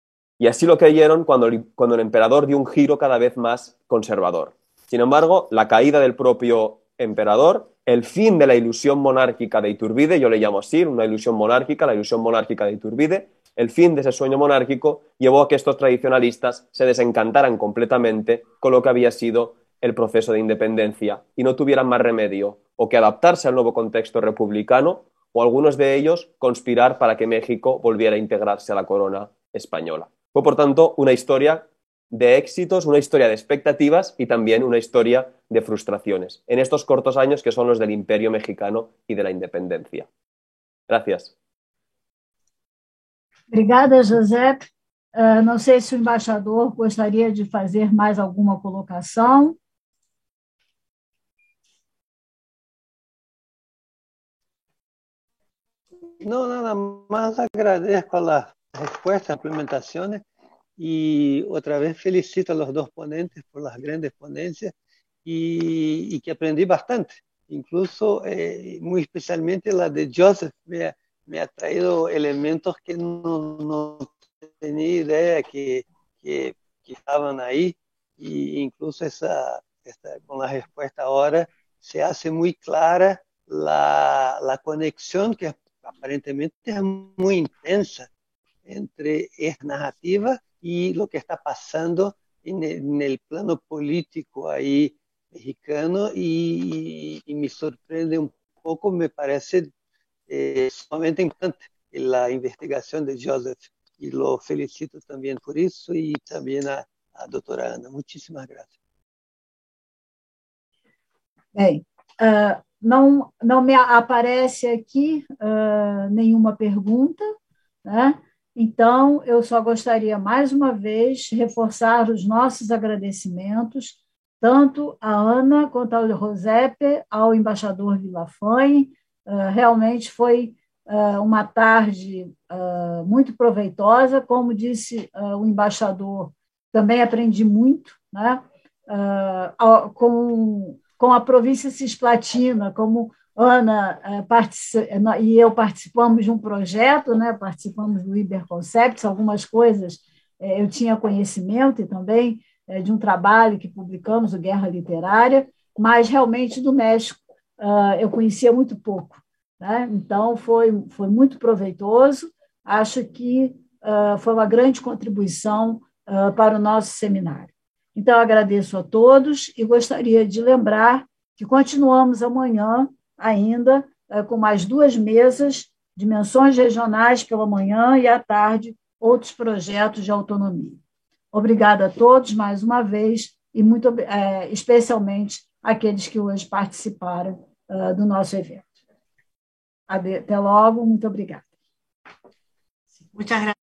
Y así lo creyeron cuando el, cuando el emperador dio un giro cada vez más conservador. Sin embargo, la caída del propio emperador, el fin de la ilusión monárquica de Iturbide, yo le llamo así, una ilusión monárquica, la ilusión monárquica de Iturbide, el fin de ese sueño monárquico llevó a que estos tradicionalistas se desencantaran completamente con lo que había sido el proceso de independencia y no tuvieran más remedio o que adaptarse al nuevo contexto republicano o algunos de ellos conspirar para que México volviera a integrarse a la corona española. Fue, por tanto, una historia de éxitos, una historia de expectativas y también una historia de frustraciones en estos cortos años que son los del Imperio Mexicano y de la independencia. Gracias. Obrigada, José. Uh, não sei se o embaixador gostaria de fazer mais alguma colocação. No, nada más agradezco a las respuestas, implementaciones y otra vez felicito a los dos ponentes por las grandes ponencias y, y que aprendí bastante, incluso eh, muy especialmente la de Joseph me, me ha traído elementos que no, no tenía idea que, que, que estaban ahí y incluso esa, esta, con la respuesta ahora se hace muy clara la, la conexión que aparentemente es muy intensa entre esta narrativa y lo que está pasando en el, en el plano político ahí mexicano y, y, y me sorprende un poco, me parece eh, sumamente importante la investigación de Joseph y lo felicito también por eso y también a, a doutora Ana. Muchísimas gracias. Bem, uh, não, não me aparece aqui uh, nenhuma pergunta, né? Então, eu só gostaria, mais uma vez, reforçar os nossos agradecimentos, tanto à Ana quanto ao Josepe, ao embaixador Villafañe. Uh, realmente foi uma tarde muito proveitosa. Como disse o embaixador, também aprendi muito, né? com, com a província cisplatina, como Ana e eu participamos de um projeto, né? Participamos do Iberconcepts, algumas coisas eu tinha conhecimento, e também de um trabalho que publicamos, o Guerra Literária, mas realmente do México eu conhecia muito pouco, né? Então foi, foi muito proveitoso, acho que foi uma grande contribuição para o nosso seminário. Então, agradeço a todos e gostaria de lembrar que continuamos amanhã ainda com mais duas mesas, dimensões regionais pela manhã e à tarde, outros projetos de autonomia. Obrigada a todos mais uma vez e muito é, especialmente aqueles que hoje participaram uh, do nosso evento. Até logo, muito obrigada. Muchas gracias.